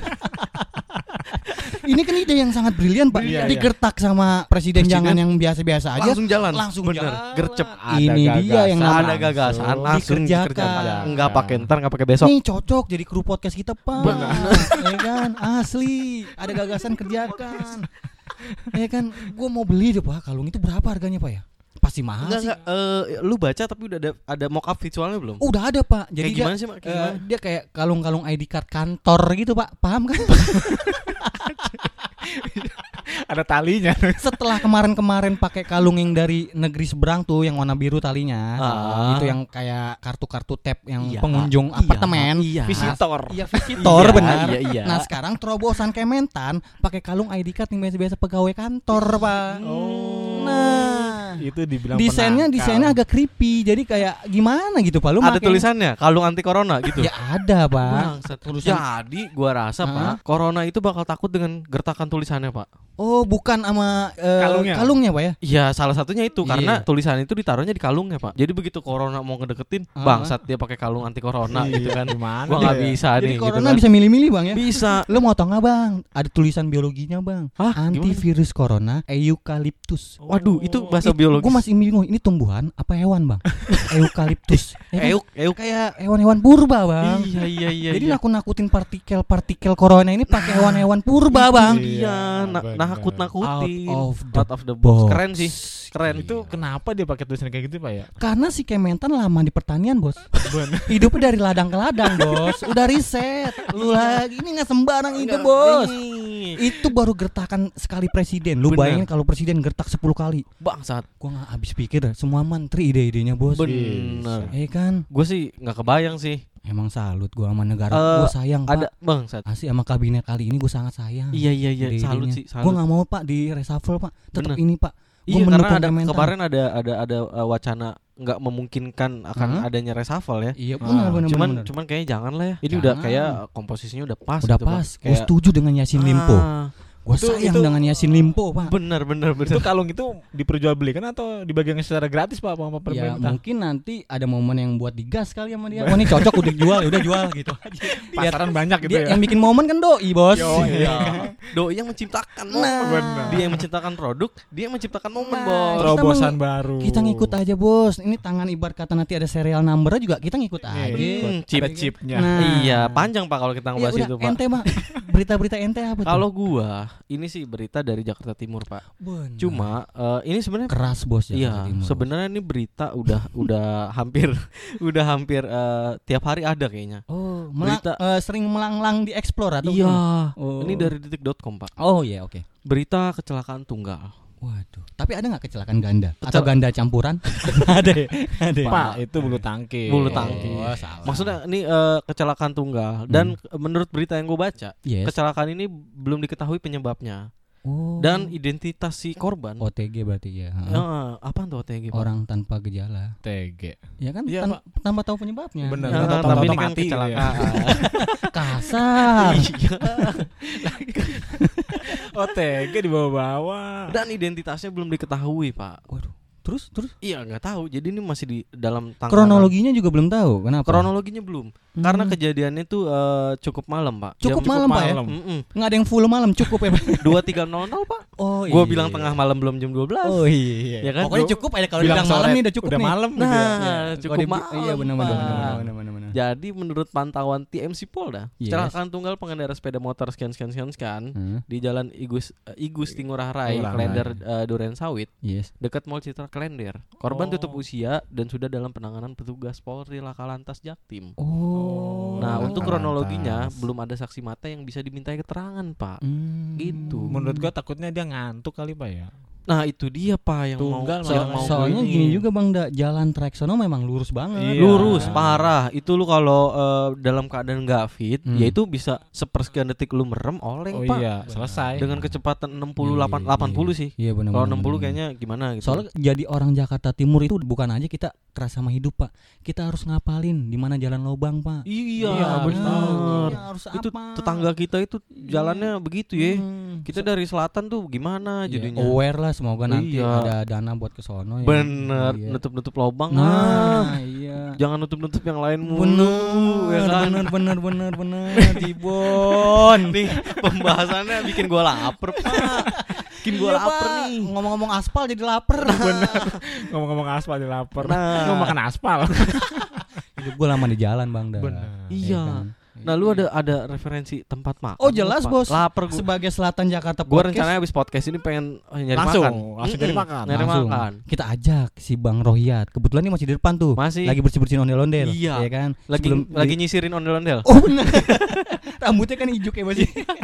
Ini kan ide yang sangat brilian Pak. Iya, iya. Digertak sama presiden, Presiden jangan yang biasa-biasa aja. Langsung jalan. Langsung Bener. jalan. Gercep. Ini dia yang gagasan, namanya Ada gagasan langsung langsung dikerjakan. dikerjakan. Enggak pakai ntar, enggak pakai besok. Nih cocok jadi kru podcast kita Pak. Ya kan asli. Ada gagasan kerjakan. Ya kan gue mau beli deh Pak. Kalung itu berapa harganya Pak ya? Pasti mahal Enggak sih. enggak eh, lu baca tapi udah ada ada mock up visualnya belum? Udah ada Pak. Jadi Kayak gimana dia, sih, Mak? Kayak eh, gimana? dia kayak kalung-kalung I D card kantor gitu Pak. Paham kan? Ada talinya. Setelah kemarin-kemarin pakai kalung yang dari negeri seberang tuh yang warna biru talinya. Ah. Itu yang kayak kartu-kartu tap yang Iya, pengunjung iya, apartemen. iya. Visitor. Iya visitor Iya, benar. iya, iya. Nah sekarang terobosan Kementan pakai kalung I D card yang biasa-biasa pegawai kantor Pak. Oh. Nah Itu dibilang desainnya penangkal. desainnya agak creepy. Jadi kayak gimana gitu Pak? Lu Ada make- tulisannya kalung anti corona gitu. Ya ada Pak. Bangsat. Tulisan- Jadi gua rasa Hah? Pak, corona itu bakal takut dengan gertakan tulisannya Pak. Oh bukan sama eh, Kalungnya? kalungnya Pak ya? Iya, salah satunya itu karena Iya. tulisan itu ditaruhnya di kalungnya Pak. Jadi begitu corona mau ngedeketin, Ah. bangsat dia pakai kalung anti corona Iya, gitu kan. gimana Gua dia nggak ya? bisa Jadi nih. gitu corona kan. bisa milih-milih Bang ya? Bisa. Lo mau tau nggak Bang? Ada tulisan biologinya Bang. Hah, Antivirus corona eukaliptus. Waduh, itu bahasa It- biologis. Gua masih bingung ini tumbuhan apa hewan Bang? Eukaliptus. Ya kan? Euk, euk. Kayak hewan-hewan purba Bang. Iya, iya, iya. Jadi iya. nakut-nakutin partikel-partikel corona ini pakai hewan-hewan purba Bang. Iya, na- bener. nakut-nakutin. Out of the Out of the box. box. Keren sih. Keren. Itu kenapa dia pakai tulisan kayak gitu pak ya? Karena si Kementan lama di pertanian bos. Hidupnya dari ladang ke ladang bos. Udah riset. Lu lagi ini nggak sembarang ide Enggak, bos. ini. Itu baru gertakan sekali presiden. Lu Bener. bayangin kalau presiden gertak sepuluh kali. Bangsat. Gua nggak habis pikir dah. Semua menteri ide-idenya bos. Bener. Eh kan. Gue sih nggak kebayang sih. Emang salut gua sama negara. Eh, Gua sayang Ada pak. bangsat. Asli sama kabinet kali ini gue sangat sayang. Iya, iya, iya. Ide-idenya. Salut sih. Gua Salut. nggak mau pak di reshuffle pak. Tetap Bener. ini pak. Gua Iya, karena mendukung ada Kementan. kemarin ada ada ada uh, wacana nggak memungkinkan akan Hah? adanya reshuffle ya. Iya Ah, benar benar cuman benar. cuman kayaknya jangan lah ya. Ini Jangan. udah kayak komposisinya udah pas Udah gitu, Pak. pas. Gue Kayak setuju dengan Yasin Limpo. Ah, Gue Itu- sayang itu- dengan Yasin Limpo pak. bener bener bener. Itu kalung itu diperjualbelikan atau dibagikan secara gratis pak sama Ya pemerintah? mungkin nanti ada momen yang buat digas kali sama dia. Wah ini cocok udah jual, udah jual gitu aja. Biar Pasaran banyak gitu dia ya. yang bikin momen kan doi bos. Yo, iya. Doi yang menciptakan momen. Bener. Dia yang menciptakan produk, dia yang menciptakan momen, Nah, Bos. kita Terobosan meng- baru. Kita ngikut aja bos. Ini tangan ibarat kata nanti ada serial number juga kita ngikut aja. Hmm, chip. Ada chipnya. Nah. Iya, panjang Pak kalau kita Ya ngebahas udah, itu, Pak. ente Pak. Berita-berita ente apa tuh? Kalau gua, ini sih berita dari Jakarta Timur, Pak. Bener. Cuma eh, ini sebenarnya keras bos ya. iya, sebenarnya ini berita udah udah hampir udah hampir eh, tiap hari ada kayaknya. Oh, melang, berita- eh, sering melanglang di explore atau Iya. gimana? Oh. Ini dari detik dot com, Pak. Oh iya oke. Berita kecelakaan tunggal. Waduh. Tapi ada nggak kecelakaan ganda atau ganda campuran? Ada, ya? Ada. ya? Pak, itu bulu tangkis. Bulu tangkis. Oh, salah. Maksudnya ini uh, kecelakaan tunggal dan Hmm. menurut berita yang gue baca, Yes. kecelakaan ini belum diketahui penyebabnya Oh. dan identitas si korban. O T G berarti ya. Heeh. Ya, apa tuh O T G? Pak? Orang tanpa gejala. T G. Ya kan Iya, tan- tanpa tahu penyebabnya. Bener. Ya, Tahu-tahu tapi ini kan mati gitu ya. kecelakaan. Kasar. Iya. Oh, T G dibawa-bawa. Dan identitasnya belum diketahui, Pak. Waduh. Terus terus Iya, nggak tahu. Jadi ini masih di dalam tangkapan. kronologinya juga belum tahu. Kenapa? Kronologinya belum. Hmm. Karena kejadiannya tuh eh, cukup malam, Pak. Cukup Jam- malam, Pak, ya? malam. Mm-mm. nggak ada yang full malam cukup ya, Pak. dua tiga nol nol, Pak. Oh Gua bilang tengah malam belum jam dua belas. Oh iya. Ya kan? Pokoknya Gua cukup aja kalau bilang bilang malam sore, nih udah cukup udah nih. malam gitu Nah, ya. Kalau cukup di- malam. Iya benar benar Pak. benar benar benar benar. Jadi menurut pantauan T M C Polda, Yes. kecelakaan tunggal pengendara sepeda motor sekian sekian sekian sekian Hmm. di Jalan Igus uh, Igusti Ngurah Rai, Ngurah Klender uh, Duren Sawit, Yes. dekat Mall Citra Klender. Korban Oh. tutup usia dan sudah dalam penanganan petugas Polri Lakalantas Jaktim. Oh. Nah, Lakalantas. untuk kronologinya belum ada saksi mata yang bisa dimintai keterangan, Pak. Hmm. Gitu. Menurut gua takutnya dia ngantuk kali, Pak ya. Nah, itu dia, Pak, yang Tunggal mau malah yang mau soalnya gini. gini juga Bang, da, jalan trek sono memang lurus banget. Iya. Lurus parah. Itu lu kalau uh, dalam keadaan nggak fit, Hmm. ya itu bisa sepersekian detik lu merem oleng, Oh Pak. iya, selesai. Dengan kecepatan enam puluh Iya, delapan iya, delapan puluh sih. Iya benar. Kalau benar, enam puluh benar. kayaknya gimana gitu. Soalnya jadi orang Jakarta Timur itu bukan aja kita keras sama hidup, Pak. Kita harus ngapalin di mana jalan lobang, Pak. iya, Iya, benar. Iya, harus Itu apa? tetangga kita itu jalannya begitu ya. Hmm. Kita dari selatan tuh gimana Iya, jadinya? aware lah, semoga nanti Iya. ada dana buat ke sono ya. Bener, Iya. nutup-nutup lubang. Nah, Ah. iya. Jangan nutup-nutup yang lain mulu. Bener, ya kan? bener, bener, bener, bener, Jibon. Nih, pembahasannya bikin gua lapar, Pak. Bikin gua Iya, lapar Pak. nih. Ngomong-ngomong aspal jadi lapar. Ngomong-ngomong aspal di lapar. Nah. Ngomong makan aspal. Hidup gue lama di jalan, Bang. Dah. Bener. Ya Iya. kan? Nah, lu ada ada referensi tempat makan? Oh, jelas, Pak? Bos. Lapar gua. Sebagai Selatan Jakarta Gua Podcast, rencananya habis podcast ini pengen eh, nyari Langsung, makan. langsung nyari Mm-mm, makan. Nyari langsung makan. kita ajak si Bang Rohiat. Kebetulan ini masih di depan tuh. Masih. Lagi bersih-bersihin ondel-ondel. Iya. Ya kan? Lagi Sebelum lagi di- nyisirin ondel-ondel. Oh, bener. Rambutnya kan ijuk ya, Bos.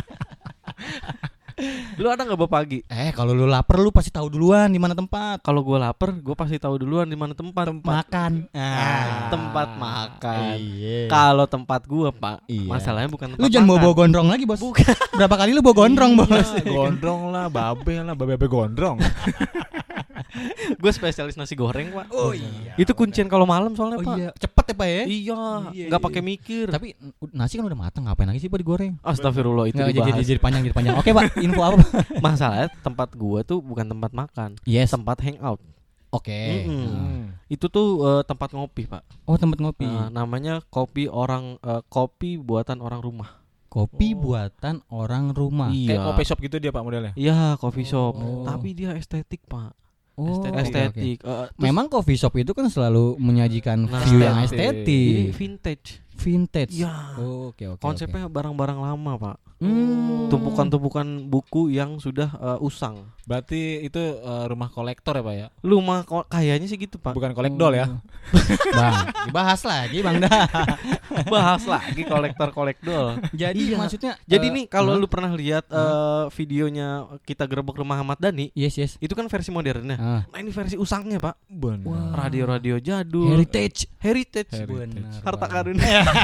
Lu ada enggak bawa pagi? Eh, kalau lu lapar lu pasti tahu duluan di mana tempat. Kalau gua lapar, gua pasti tahu duluan di mana tempat. Makan. Ah, tempat makan. Iya. Kalau tempat gua, Pak, Iya. masalahnya bukan tempat Lu jangan bawa makan. bawa gondrong lagi, Bos. Berapa kali lu bawa gondrong, Bos? Iya, gondrong lah, babe lah, babe-babe gondrong. Gue spesialis nasi goreng, Pak. Oh iya. Itu kuncian kalau malam soalnya, Oh Pak. iya, cepet ya, Pak ya? Iya, Iya, nggak iya, pakai iya. mikir. Tapi uh, nasi kan udah matang, ngapain lagi sih Pak digoreng? Astagfirullah, itu Nggak, jadi, dibahas. jadi, jadi panjang, jadi panjang. Oke Pak, info apa Pak? Masalahnya tempat gua tuh bukan tempat makan, Yes. tempat hangout. Oke. Mm-mm. Nah. Itu tuh eh, tempat ngopi, Pak. Oh tempat ngopi. Nah, namanya kopi orang eh, kopi buatan orang rumah. Kopi Oh. buatan orang rumah. Kayak coffee shop gitu dia Pak modelnya. Iya, coffee shop. Oh. Tapi dia estetik, Pak. Oh, oke, oke. Estetik. Eh, terus Memang coffee shop itu kan selalu menyajikan Nah, view yang estetik. ini estetik, vintage. vintage. Iya. Oh, oke oke. Konsepnya barang-barang lama, Pak. oke. Hmm. Tumpukan-tumpukan buku yang sudah eh, usang. Berarti itu eh, rumah kolektor ya Pak ya? Lu mah kok kayaknya sih gitu, Pak. Bukan kolekdol ya? Bang, dibahas lagi Bang dah. Bahas lagi kolektor-kolekdol. Jadi Iya. maksudnya Jadi eh, nih kalau huh? lu pernah lihat eh, videonya kita gerebek rumah Ahmad Dhani, Yes yes. itu kan versi modernnya. Ah. Nah, ini versi usangnya, Pak. Benar. Wah. Radio-radio jadul. Heritage. Heritage. Heritage. Benar, Harta Bang. karun.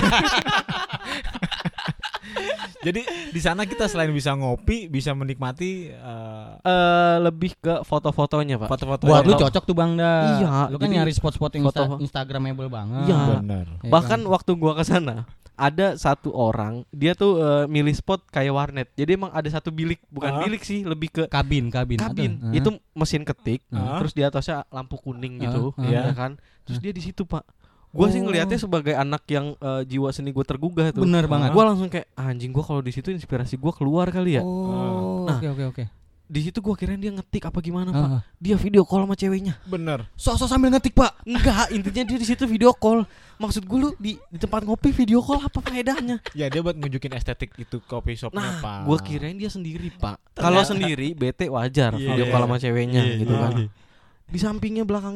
Jadi di sana kita selain bisa ngopi, bisa menikmati eh, Eh lebih ke foto-fotonya, Pak. foto-foto. Buat lu yang- cocok tuh Bang dah. Iya, Lu kan jadi nyari spot-spot yang foto- insta- instagramable banget. Iya. Benar. Ya Bahkan kan? waktu gua ke sana ada satu orang, dia tuh eh, milih spot kayak warnet. Jadi emang ada satu bilik, bukan Ah. bilik sih, lebih ke kabin, kabin. kabin. Ada. Itu mesin ketik, Ah. terus di atasnya lampu kuning gitu, Ah, ya ah. kan. Terus dia di situ, Pak. Gua sih Oh. ngelihatnya sebagai anak yang eh, jiwa seni gue tergugah tuh. Bener banget. Gua langsung kayak anjing, gua kalau di situ inspirasi gua keluar kali ya. Oh, Nah. oke oke oke. Di situ gua kirain dia ngetik apa gimana, Ah, Pak. ah. Dia video call sama ceweknya. Benar. Sok-sok sambil ngetik, Pak. Enggak, intinya dia di situ video call. Maksud gue lu di, di tempat ngopi video call apa faedahnya? Ya dia buat nunjukin estetik itu coffee shopnya Nah, Pak. gua kirain dia sendiri, Pak. Kalau sendiri bete wajar Iya, video iya. call sama ceweknya Iya, gitu iya. kan. Di sampingnya belakang itu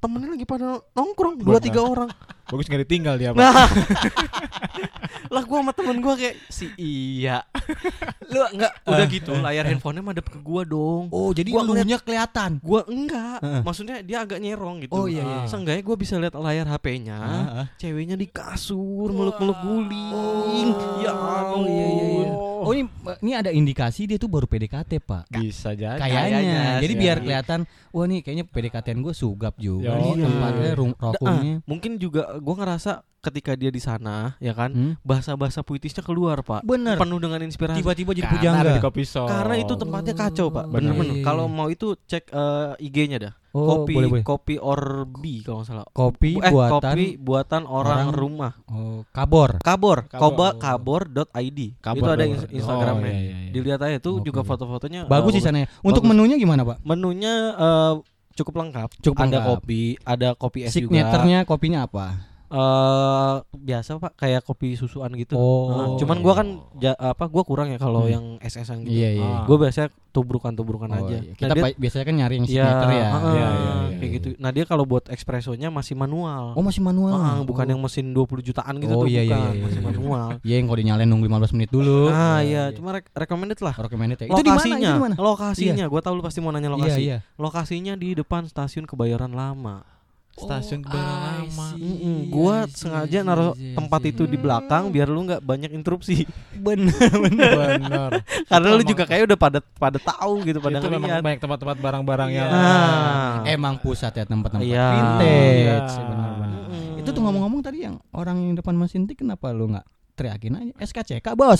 temennya lagi pada nongkrong dua tiga orang. Bagus nggak ditinggal dia, Pak. Nah, lah gue sama temen gue kayak si iya, lu nggak udah gitu layar handphonenya madep ke gue dong. Oh, jadi Gua ngeliat- elunya kelihatan. Gue enggak, Heeh. maksudnya dia agak nyerong gitu. Oh, iya, iya. Seenggaknya gue bisa lihat layar H P-nya, Heeh. ceweknya di kasur meluk-meluk guling. Ya Oh, iya, iya, iya. Oh, ini ini ada indikasi dia tuh baru P D K T, Pak. Bisa jadi. Kayaknya. Kayaknya Jadi sih, biar iya. kelihatan, wah nih kayaknya P D K T-an gue sugap juga. Yo, Nih iya. tempatnya rum- rokumnya. Mungkin juga gue ngerasa ketika dia di sana, ya kan, Hmm? bahasa-bahasa puitisnya keluar, Pak. Bener. Penuh dengan inspirasi. Tiba-tiba jadi Karena ada pujangga. di kopi shop. Karena itu tempatnya kacau, Pak. Bener-bener. Iya, iya. Kalau mau itu cek eh, I G-nya dah. Oh, kopi boleh, boleh. kopi Orbi kalau nggak salah. Kopi eh, buatan kopi buatan orang, orang- rumah. oh, kabor. Kabor, Kabor. koba kabor.id. Kabor, Itu ada kabor. ins- Instagramnya. Oh, iya, iya, iya. Dilihat aja tuh Oke, juga oke. foto-fotonya Bagus eh, di sana ya. Untuk bagus. menunya gimana, Pak? Menunya eh, cukup lengkap. Cukup ada lengkap. kopi, ada kopi es juga. Signaturenya kopinya apa? Eh biasa Pak, kayak kopi susuan gitu. Oh. Nah, cuman gua kan ja- apa gua kurang ya kalau Hmm. yang es-esan gitu. Iya, iya. Ah. Gua biasanya tubrukan-tubrukan Oh, aja. iya. Nah, Kita dia- pa- biasanya kan nyari yang Iya, signature ya. heeh, Iya, iya, iya, kayak iya. gitu. Nah, dia kalau buat espressonya masih manual. Oh, masih manual. Ah, bukan yang mesin dua puluh jutaan gitu Oh, tuh, iya, iya, bukan, iya, masih iya. manual. Iya, yang kalau dinyalain nunggu lima belas menit dulu. Ah, iya, cuma rek- recommended lah. Recommended ya. Itu di mana? Itu Lokasinya, di mana? lokasinya, gua tahu lu pasti mau nanya lokasi. Iya, iya. Lokasinya di depan stasiun Kebayoran Lama. Stasiun Oh, Kebayoran I Lama. see. Mm-mm, I gua see, sengaja I see, naruh I see, I tempat see. itu di belakang biar lu nggak banyak interupsi. Bener, bener. Bener. Karena Itu lu emang- juga kayak udah pada pada tahu gitu, pada itu memang ngeliat. banyak tempat-tempat barang-barang yang Nah. Emang pusat ya tempat-tempat Iya. vintage. Iya. Benar-benar. Mm-mm. Itu tuh ngomong-ngomong tadi yang orang yang depan mesin tik kenapa lu nggak teriakin aja S K C K, Bos?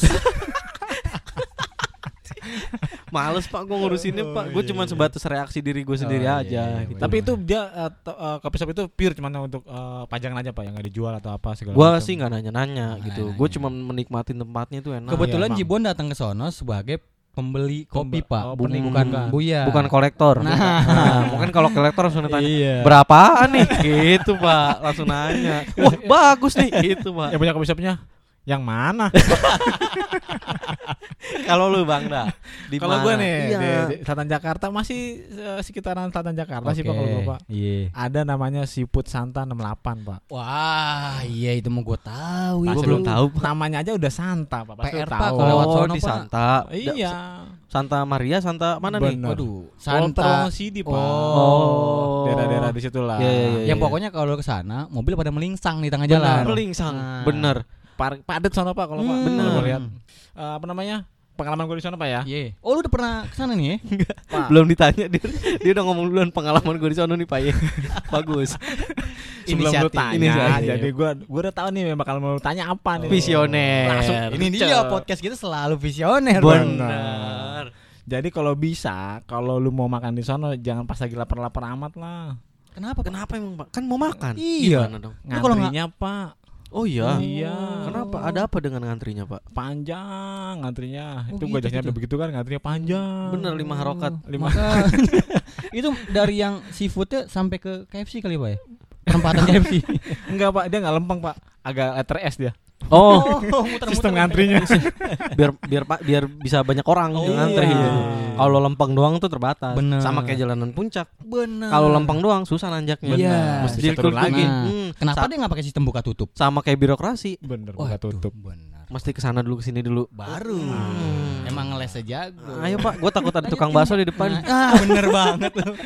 Males Pak gua ngurusinnya Pak. Gue cuma sebatas reaksi diri gue sendiri Oh, iya, aja iya, gitu. Tapi itu dia uh, to- uh, kopi shop itu pure cuman untuk uh, pajangan aja Pak, yang nggak dijual atau apa segala gue macam. sih nggak nanya-nanya Nggak gitu. nanya. Gue cuma menikmatin tempatnya itu enak. Kebetulan emang. Jibon datang ke sono sebagai pembeli kopi, Pembe- Pak. oh, Bu- penikmat. bukan buya. Bukan kolektor. Nah. Nah, mungkin kalau kolektor langsung ditanya Iya. berapaan nih gitu Pak, langsung nanya. Wah bagus nih gitu Pak. Yang punya kopi shopnya yang mana? Kalau lu Bang dah di Kalau mana? gue nih Iya. di, di Selatan Jakarta masih uh, sekitaran Selatan Jakarta sih Pak kalau gue Pak. Iya. Ada namanya Seafood Santa enam puluh delapan Pak. Wah, iya itu mau gue tahu. Gua itu. belum tahu. Namanya aja udah Santa Pak. Pasti P R lu Pak, tahu. kalau lewat Oh sono, di Pak. Santa. Iya. Santa Maria, Santa mana nih? Bener. Waduh, Walter Santa. Wongosidi Pak. Oh. Daerah-daerah di situ lah. Iya, iya, iya. Yang pokoknya kalau ke sana mobil pada melingsang di tengah Bener. jalan. Melingsang. Nah. Bener. Par- padet sono Pak kalau Pak. Hmm. Bener. Gue lihat. Eh, apa namanya? Pengalaman gue di sana Pak ya. Iya. Oh, lu udah pernah ke sana nih ya? Pak. Belum ditanya dia, dia udah ngomong duluan pengalaman gue di sana nih Pak ya. Bagus. Sebelum lu Inisiatif. tanya, Inisiatif. jadi gue gue udah tahu nih bakal mau tanya apa nih. Visioner. Langsung Ini dia podcast kita selalu visioner. Bener. Jadi kalau bisa, kalau lu mau makan di sana jangan pas lagi lapar-lapar amat lah. Kenapa? Kenapa emang Pak? Kan mau makan. Iya. Gimana dong? Lu kalau Ngantrinya Pak Oh iya. Iya. Kenapa? Ada apa dengan ngantrinya Pak? panjang ngantrinya. Oh, Itu gitu, gue aja gitu. begitu kan ngantrinya panjang. Bener lima harokat. Lima. Maka- itu dari yang seafoodnya sampai ke K F C kali ya, Pak ya? Perempatan K F C. Enggak Pak, dia enggak lempeng Pak. Agak letter S dia. Oh, muter-muter. Sistem ngantrinya. biar biar Pak biar bisa banyak orang Oh, yang ngantri. iya. Kalau lempeng doang tuh terbatas. Bener. Sama kayak jalanan puncak. Bener. Kalau lempeng doang susah nanjaknya. Iya. Mesti Mesti turun lagi. lagi. Nah, kenapa Sa- dia nggak pakai sistem buka tutup? sama kayak birokrasi. Bener, Waduh, buka tutup. Benar. Mesti kesana dulu kesini dulu. Baru. Hmm. Emang ngeles jago. Ayo Pak, gue takut ada tukang bakso di depan. Ah, bener banget lu.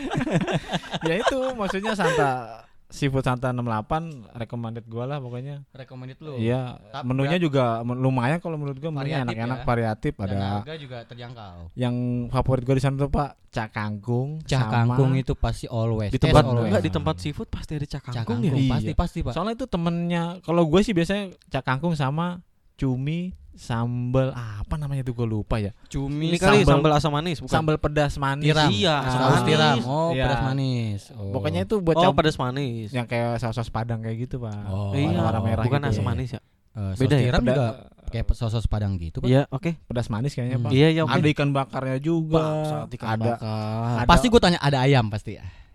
Ya itu maksudnya Santa Seafood Santa enam puluh delapan recommended gue lah pokoknya. Recommended lu. Iya, Tapi menunya berat- juga men- lumayan kalau menurut gue menunya Variatif enak-enak ya. variatif Dan ada. harga juga terjangkau. Yang favorit gue di sana tuh Pak, cak kangkung. Cak sama- kangkung itu pasti always. Di tempat Taste always. enggak di tempat seafood pasti ada cak Cak kangkung kangkung ya. pasti Iya. pasti, Pak. Soalnya itu temennya, kalau gue sih biasanya cak kangkung sama cumi sambal apa namanya tuh gue lupa ya. Cumi Ini kali Sambal- sambal asam manis bukan? Sambal pedas manis. tiram. Iya, Ah, asam Saus manis. tiram. Oh, Iya. pedas manis. Oh. Pokoknya itu buat Oh, camp- pedas manis. yang kayak saus-saus Padang kayak gitu Pak. Oh, iya, warna merah bukan gitu. asam Iya. manis ya. Eh, saus Beda ya? tiram Peda- juga kayak saus Padang gitu, Pak. Iya, oke. pedas manis kayaknya Hmm. Pak. Iya, ya oke. Ada ikan bakarnya juga. Bangsat, ikan ada bakar. ada- Pasti gue tanya ada ayam pasti ya.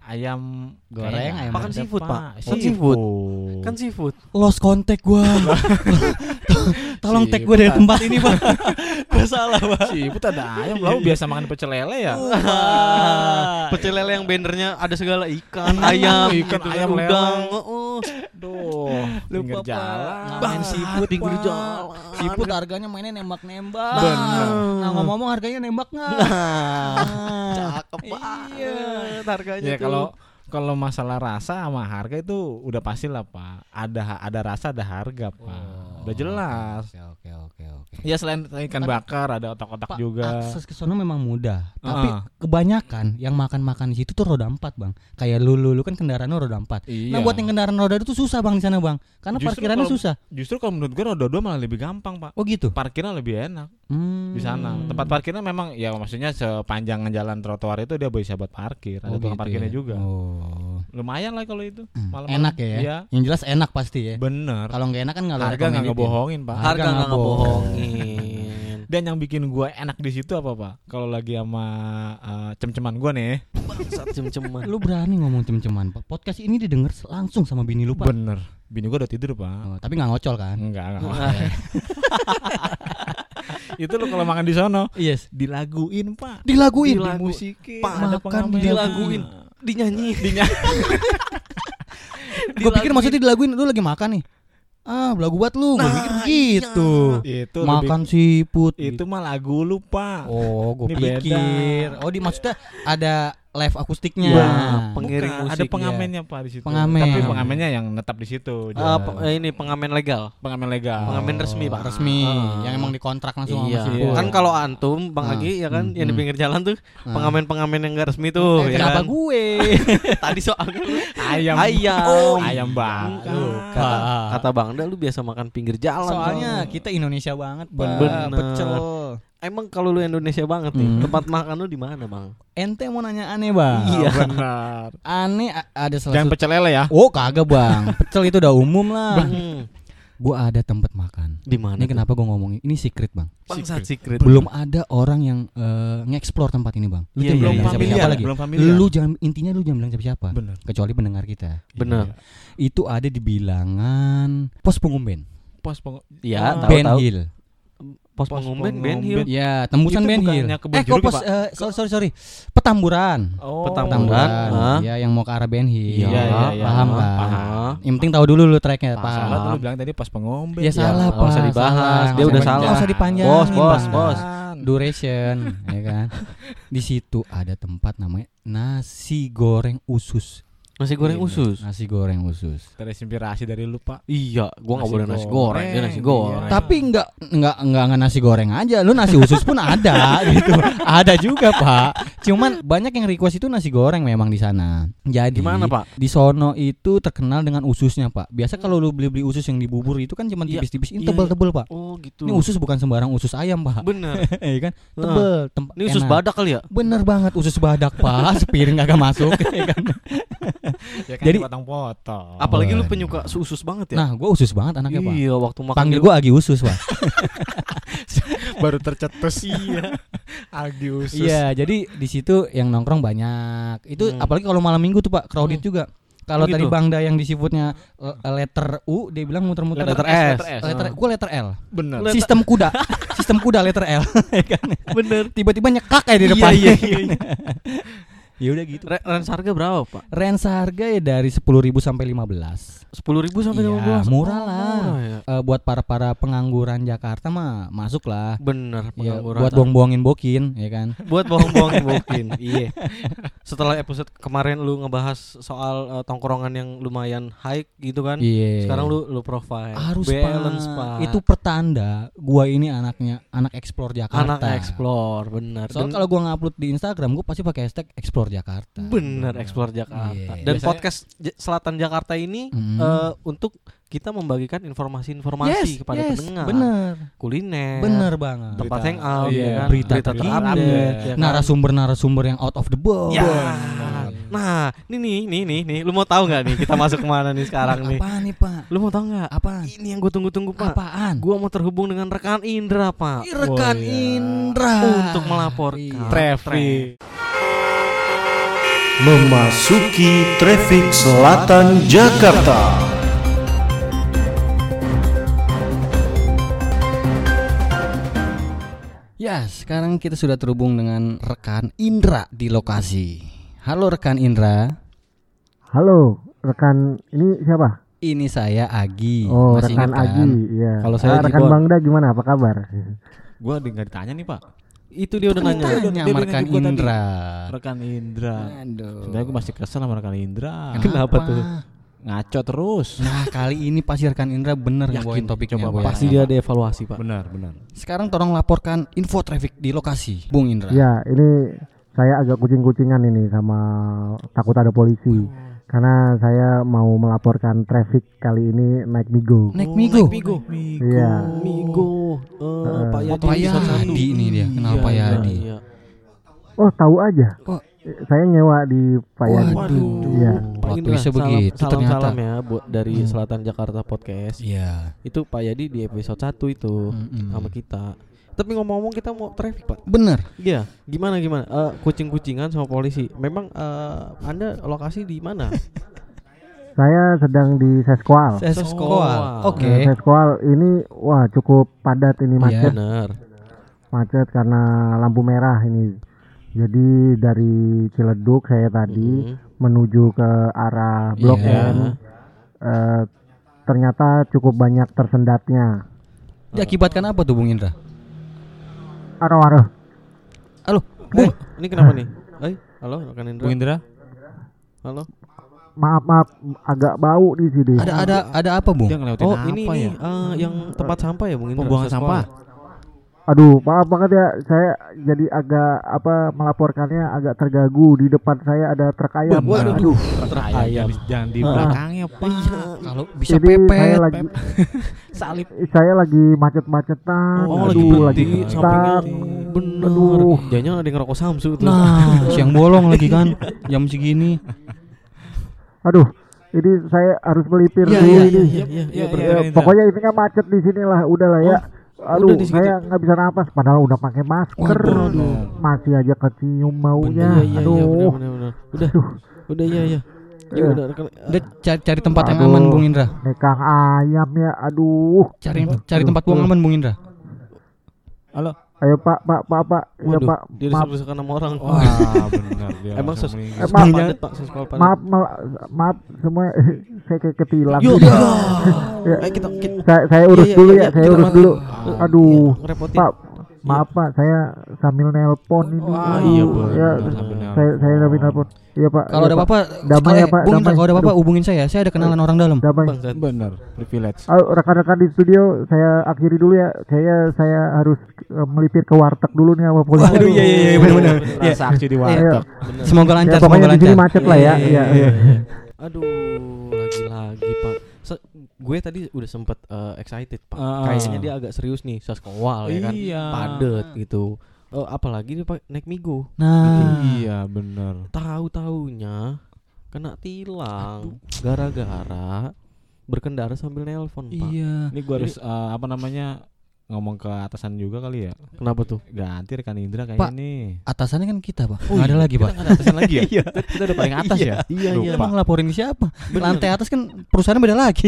ayam Goreng, kayaknya ayam Makan ada, seafood, Pak. Kan Seafood. seafood. Kan seafood. Lost kontak gua. Tolong tag gua dari tempat ini, Pak. Gua salah, Pak. Seafood ada ayam. Lalu biasa makan pecel lele ya. Pecel lele yang bannernya ada segala ikan, ayam, Ikan, gitu, ayam, udang. lele. Heeh. Duh, pinggir Lupa, Pak. jalan. Main seafood, pinggir Pak. jalan. Seafood harganya mainnya nembak-nembak. Bener. Nah, ngomong-ngomong harganya nembak nggak? Cakep banget harganya Ya tuh. kalau kalau masalah rasa sama harga itu udah pasti lah Pak. Ada ada rasa ada harga Pak. Udah jelas. Oke, oke, oke, oke. Ya selain ikan bakar ada otak-otak Pak, juga. akses ke sono memang mudah, tapi Ah. kebanyakan yang makan-makan di situ tuh roda empat, Bang. Kayak lu lu, lu kan kendaraan lu roda empat. Iya. Nah, buat yang kendaraan roda itu susah, Bang, di sana, Bang. Karena Justru parkirannya kalau- susah. Justru kalau menurut gue roda dua malah lebih gampang Pak. Oh, gitu. Parkirnya lebih enak Hmm. di sana. Tempat parkirnya memang ya maksudnya sepanjang jalan trotoar itu dia bisa buat parkir. Ada Oh, tukang gitu parkirnya ya? juga. Oh. Lumayan lah kalau itu. Hmm, Malam-malam. enak ya. Iya. Yang jelas enak pasti ya. Bener. Kalau nggak enak kan nggak lu Harga nggak recommended ya. ngebohongin Pak. Harga harga nggak nggak ngebohongin. Dan yang bikin gue enak di situ apa Pak? Kalau lagi sama uh, cem-ceman gue nih. Bangsat cem-ceman. Lu berani ngomong cem-ceman, Pak. Podcast ini didengar langsung sama bini lu, Pak. Bener. Bini gue udah tidur Pak. Oh, tapi nggak ngocol kan? Enggak, enggak. Itu lo kalau makan di sono Yes. dilaguin Pak. Dilaguin. Dilagu- Dimusikin. Pak, ada makan pengamen. dilaguin. Dinyanyi. Gue pikir maksudnya dilaguin lu lagi makan nih. Ah, lagu buat lu. Gue Nah, pikir begitu. Itu Makan lebih- siput. itu mah lagu lu Pak. Oh, gue Ini beda. pikir. Oh, di maksudnya ada live akustiknya. Iya, Bukan, pengiring ada musik, pengamennya Pak di situ. Pengamen. Tapi pengamennya yang netap di situ. Eh, jualan. pe- eh, ini pengamen legal. pengamen legal. pengamen resmi, Pak. Resmi, Ah. yang emang dikontrak langsung Iya. sama si Iya. Kan kalau antum Bang Ah. Agi ya kan Hmm, yang di hmm. pinggir jalan tuh Ah. pengamen-pengamen yang enggak resmi tuh Eh, ya kenapa kan? gue? Tadi soalnya lu ayam. ayam. Oh, ayam bakar. Kata, kata Bang Da lu biasa makan pinggir jalan. Soalnya Bang. kita Indonesia banget, Pak. Bener. Pecel. Emang kalau lu Indonesia banget nih, Hmm. tempat makan lu di mana, Bang? Ente mau nanya aneh, Bang? Iya. Benar. Aneh a- ada salah Jangan satu. pecel lele ya. Oh, kagak, Bang. Pecel itu udah umum lah. Hmm. Gua ada tempat makan. Di mana? Ini kenapa gua ngomongin? Ini secret, Bang. Bangsat secret. Belum ada orang yang eh, nge-explore tempat ini, Bang. Lu Iya, jangan iya, bilang iya. siapa-siapa familiar, lagi. belum familiar. Lu jangan intinya lu jangan bilang siapa-siapa. Benar. Kecuali pendengar kita. Bener. Itu ada di bilangan Pos Pengumben. Pos peng Iya, Ah. tahu Ben tahu. Hill. Pos Pos pengumben pengumben. Ben Hill. Ya, tembusan Itu Ben Hill. bukannya kebun Eh, kok jeruk ya, pos Pak? eh, sorry sorry sorry. Petamburan. Oh. Petamburan. Ah. Ya, yang mau ke arah Ben Hill. Iya, iya, iya. Paham kan? Paham. Yang penting tahu dulu lu tracknya, Pak, salah tuh Pak. lu bilang tadi pos pengombe. Ya, salah, nggak usah Pak. dibahas. Salah. Dia Nggak udah usah- salah. nggak usah dipanjangin, Bos, bos, Bang. bos. Duration, ya kan. Di situ ada tempat namanya nasi goreng usus. Nasi goreng Iya. usus. Nasi goreng usus. Terinspirasi dari lu Pak. Iya, gua enggak Nasi boleh nasi goreng, goreng, dia nasi iya. goreng. Tapi enggak enggak enggak enggak nasi goreng aja. Lu nasi usus pun ada gitu. Ada juga, Pak. Cuman banyak yang request itu nasi goreng memang di sana. Jadi Gimana, Pak? di sono itu terkenal dengan ususnya, Pak. Biasa kalau lu beli-beli usus yang di bubur itu kan cuma Iya, tipis-tipis, ini iya, tebel-tebel, Pak. Oh, gitu. Ini usus bukan sembarang usus ayam, Pak. bener. Iya kan? Tebel, tempat. Ini usus badak kali ya? Bener banget usus badak, Pak. Sepiring kagak masuk, ya kan? Ya kan Jadi- potong-potong. Apalagi lu Waduh. penyuka usus banget ya? Nah, gua usus banget anaknya, Pak. Iya, waktu makan Panggil di- gua Agi Usus, Pak. baru tercetus. Iya. Agi usus. Iya, jadi di situ yang nongkrong banyak. Itu Hmm. apalagi kalau malam minggu tuh, Pak, crowded Hmm. juga. Kalau Oh, tadi gitu? Bang Da yang di seafoodnya uh, letter U, dia bilang muter-muter Letter S, S. letter S. letter gua letter L. Bener. Letter- Sistem kuda. Sistem kuda letter L. Ya kan? Bener. Tiba-tiba nyekak kayak di Iya, depan. iya, iya, iya. Ya udah gitu. Re- Range harga berapa, Pak? Range harga ya dari sepuluh ribu sampai lima belas. sepuluh ribu sampai Iya, lima belas. murah lah. Murah ya. Eh, buat para-para pengangguran Jakarta mah masuk lah. Bener, Ya, pengangguran. buat buang-buangin bokin, ya kan? buat bohong-bohongin mungkin. Iya. Setelah episode kemarin lu ngebahas soal eh, tongkrongan yang lumayan high gitu kan. Iya. Sekarang lu lu profile. harus, balance, Pak. Pak. Itu pertanda gua ini anaknya anak explore Jakarta. anak explore, bener. Soal Dan- kalau gua ngupload di Instagram gua pasti pakai hashtag explore Jakarta. bener explore Jakarta. Iya. Dan Biasanya- podcast J- Selatan Jakarta ini Hmm. eh, untuk kita membagikan informasi-informasi Yes, kepada yes, pendengar. bener. Kuliner. Bener banget. Tempat Berita- hangout, iya, ya kan? berita terupdate, terupdate, ya kan? narasumber-narasumber yang out of the box. Ya. Bener. Nah, ini nih, nih, nih, nih. Lu mau tahu nggak nih kita masuk kemana nih sekarang nih? Apaan nih, Pak? Lu mau tahu nggak? Apaan? Ini yang gue tunggu-tunggu, Pak. Apaan? Gua mau terhubung dengan rekan Indra, Pak. Ih, rekan Oh, iya. Indra Untuk melaporkan Iya. Traffic. memasuki trafik selatan Jakarta. Ya, sekarang kita sudah terhubung dengan rekan Indra di lokasi. Halo rekan Indra. Halo, rekan ini siapa? Ini saya Agi. Oh, Masih rekan ingat kan? Agi. Iya. Kalau saya Ah, rekan Jibon. Bangda gimana? Apa kabar? Gua nggak ditanya nih Pak. Itu dia udah nanya. Tanya Dia sama bilang rekan ke gua tadi. Indra. Rekan Indra. Aduh. Sebenarnya gue masih kesel sama rekan Indra. Kenapa tuh? Ngaco terus. Nah, kali ini pasti rekan Indra bener Yakin. ngebawain topiknya. Coba, gua Pasti yakin. dia ada evaluasi, Pak. Benar, benar. Sekarang tolong laporkan info traffic di lokasi, Bung Indra. Ya, ini saya agak kucing-kucingan ini sama takut ada polisi. Karena saya mau melaporkan traffic kali ini naik Migo. Naik Migo. Migo. Iya. Migo. Eh, Pak Yadi. Pak Yadi ini dia. Kenal Pak Yadi? Iya. Oh, tahu aja. Oh. Saya nyewa di Pak Yadi. Waduh. Iya. Pak Waktu Indra, bisa salam, begitu salam, ternyata. salam ya buat dari Selatan Jakarta Podcast. Iya. Itu Pak Yadi di episode satu itu Mm-mm. sama kita. Tapi ngomong-ngomong kita mau traffic, Pak. Bener. Iya, gimana gimana? Eh, kucing-kucingan sama polisi. Memang eh, Anda lokasi di mana? Saya sedang di Seskual. Seskoal. Oke. Nah, Seskual ini wah cukup padat ini macet. Benar. Macet karena lampu merah ini. Jadi dari Ciledug saya tadi Mhm. menuju ke arah Blok Iya. M. eh, ternyata cukup banyak tersendatnya. Diakibatkan apa tuh Bung Indra? Aduh-aduh. Halo, Bung, ini kenapa nih? Hai, halo rekan Indra. Bung Indra, Halo. Maaf maaf agak bau di sini. Ada ada ada apa Bung? dia ngelewatin Oh, apa ini ya? nih eh, yang tempat sampah ya, Bung Indra? Pembuangan Sekolah. sampah. Aduh, maaf banget ya. Saya jadi agak apa melaporkannya agak terganggu. Di depan saya ada truk ayam. Benar. Aduh. Truk ayam. ayam. Jangan di Ah. belakangnya, Pak. Kalau bisa Jadi saya pepet. lagi Salib. saya lagi macet-macetan. Oh, Aduh, lagi berhenti lagi sampingnya. stuck. Bener. Aduh. Jangan ada yang ngerokok Samsu tuh. Nah, siang bolong lagi kan jam segini. Aduh, ini saya harus melipir Iya, dulu iya, ini. iya, iya, iya, Iya, bener. iya. Ya, pokoknya intinya macet di sini lah, udahlah ya. Aduh, udah di situ. saya nggak bisa napas padahal udah pakai masker. Waduh. Masih aja kecium baunya. Iya, iya, iya, Aduh. bener, bener, bener. Udah, Aduh. udah, iya, iya. Ya Eh. udah, rekan- Udah cari, cari tempat yang Aduh. aman Bung Indra. Nekang ayam ya, aduh. Cari cari tempat buang aman Bung Indra. Halo. Ayo Pak, Pak, Pak, Pak. Ya Waduh, Pak, dia maaf, disuruh sama orang. Wah, benar dia. Emang langsung ses- meninggal. Eh, maaf, padat, Pak, sekolah padat. maaf, maaf, maaf semua saya kayak ketilang. Yo, gitu. yo. Ya, Ayo kita, kita saya, saya urus Iya, iya, dulu iya, ya, saya kita urus bantu. dulu. Ah, Aduh, iya, ngerepotin. Pak, maaf Pak, saya sambil nelpon ini. Wah, Aduh, iya, ya, benar, benar. saya saya sambil nelpon. Iya Pak. Kalau iya, ada Pak. apa-apa, Damai ya, Pak, Bung Indra, damai. kalau ada apa-apa Aduh. hubungin saya. Saya ada kenalan orang dalam. Damai. Bangsat. Benar, privilege. Ayo rekan-rekan di studio, saya akhiri dulu ya. Saya saya harus eh, melipir ke warteg dulu nih sama polisi. Waduh, iya, iya, iya, benar-benar. Iya. Transaksi di Iya. warteg. Semoga Ya, lancar, pokoknya semoga di sini lancar. macet lah ya. Iya, iya. Aduh, lagi-lagi Pak. Se- gue tadi udah sempet eh, excited Pak. Ah. Kayaknya dia agak serius nih, saskowal ya kan. Iya. Padet gitu. Eh, apalagi dia Pak naik Migo. Nah, Iya, benar. Tahu-taunya kena tilang gara-gara berkendara sambil nelpon Pak. iya. Ini gua harus eh, apa namanya ngomong ke atasan juga kali ya. Kenapa tuh? Ganti rekan Indra kayaknya Pak. nih. Atasannya kan kita, Pak. Oh Nggak ada iya, lagi, kita Pak. nggak ada atasan lagi ya? Kita, kita udah paling atas ya. Iya, iya. Emang ngelaporin ke siapa? Bener. Lantai atas kan perusahaan beda lagi.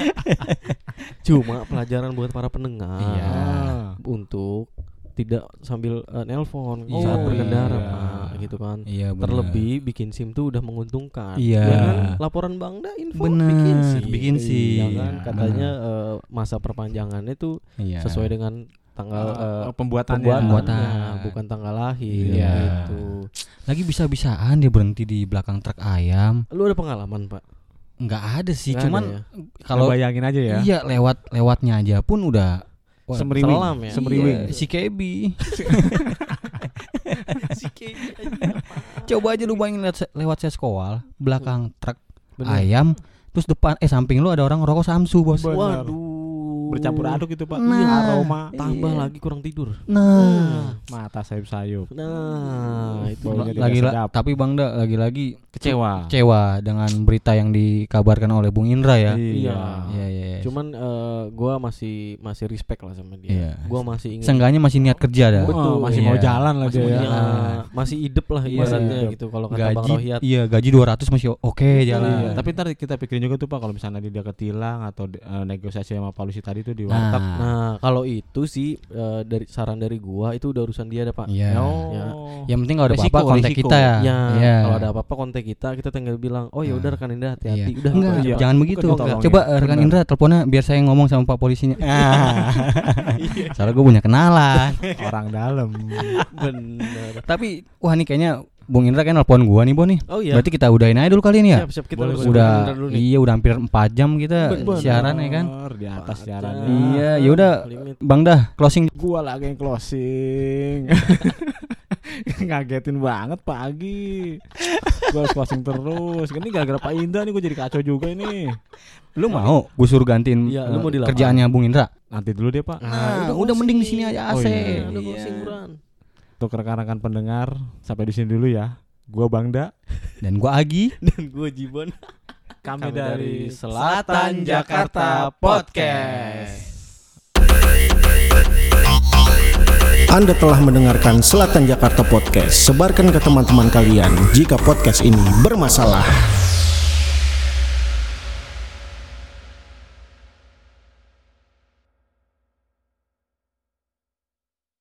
Cuma pelajaran buat para pendengar. Iya. Untuk tidak sambil eh, nelpon Oh, saat berkendara iya. Pak gitu kan. Iya, benar. Terlebih bikin SIM tuh udah menguntungkan. Iya. Ya kan? Laporan Bangda info Bener, bikin SIM. bikin SIM. Ya kan? Iya, Katanya eh, masa perpanjangannya tuh Iya. sesuai dengan tanggal eh, Eh, pembuatannya. pembuatannya, Pembuatan. bukan tanggal lahir Iya. gitu. Lagi bisa-bisaan dia berhenti di belakang truk ayam. Lu ada pengalaman, Pak? Nggak ada sih, Nggak cuman ada ya? kalau bayangin aja ya. iya lewat lewatnya aja pun udah wah, Semeriwing. selam ya? Semeriwing. iya, si Kebi. Coba aja lu bayangin lewat, lewat Seskoal, belakang truk Bener. ayam, terus depan eh samping lu ada orang rokok Samsu, Bos. Bener. Waduh. bercampur aduk itu Pak. Nah. Aroma Tambah Iya. lagi kurang tidur. Nah, mata sayup-sayup. Nah, itu Baunya tidak lagi la- sedap. tapi Bang Da lagi-lagi Kecewa. kecewa dengan berita yang dikabarkan oleh Bung Indra ya. Iya. Iya, iya. iya. Cuman eh, gua masih masih respect lah sama dia. Iya. Gua masih ingin Seenggaknya masih niat kerja dah. Betul, masih Iya. mau jalan lah masih dia ya. punya, masih hidup lah Iya, ibaratnya hidup. gitu kalau kata Bang Gaji, Rohiat. iya gaji dua ratus masih oke jalan. Iya. Tapi ntar kita pikirin juga tuh Pak kalau misalnya dia ketilang atau eh, negosiasi sama polisi tadi tuh di warteg. Nah, Nah, kalau itu sih eh, dari saran dari gua itu udah urusan dia dah, Pak. iya. Oh. Ya. Yang penting kalau ada Resiko, apa-apa kontak resiko. kita ya. Ya, Iya. kalau ada apa-apa kontak kita, kita tinggal bilang, "Oh ya udah Nah. rekan Indra hati-hati." Iya. Udah Enggak, gitu aja, Pak. jangan begitu. Bukan ditolongin. Coba eh, rekan Benar. Indra teleponnya biar saya ngomong sama Pak polisinya. Ah. Soalnya gue punya kenalan. Orang dalam. Bener. Tapi wah nih kayaknya Bung Indra kan nelpon gua nih, Bo nih. Oh iya. Berarti kita udahin aja dulu kali ini ya. Siap, siap kita Boleh, harus boleh. Udah Indra dulu nih. iya udah hampir empat jam kita Bener. siaran ya kan. Di atas Empat siarannya. jam. Iya, ya udah Limit. Bang dah closing. Gua lagi yang closing. Ngagetin banget pagi. Gua harus closing terus. Ini gara-gara Pak Indra nih gua jadi kacau juga ini. Lu mau gue suruh gantiin Iya, eh, lu mau di lapangan. kerjaannya Bung Indra? Nanti dulu deh Pak. Nah, udah udah closing. mending di sini aja A C. Oh, iya. Udah Iya. closing, Bran. Untuk rekan-rekan pendengar sampai di sini dulu ya. Gua Bangda. Dan gua Agi. Dan gue Jibon. Kami, Kami dari dari Selatan Jakarta Podcast. Anda telah mendengarkan Selatan Jakarta Podcast. Sebarkan ke teman-teman kalian jika podcast ini bermasalah.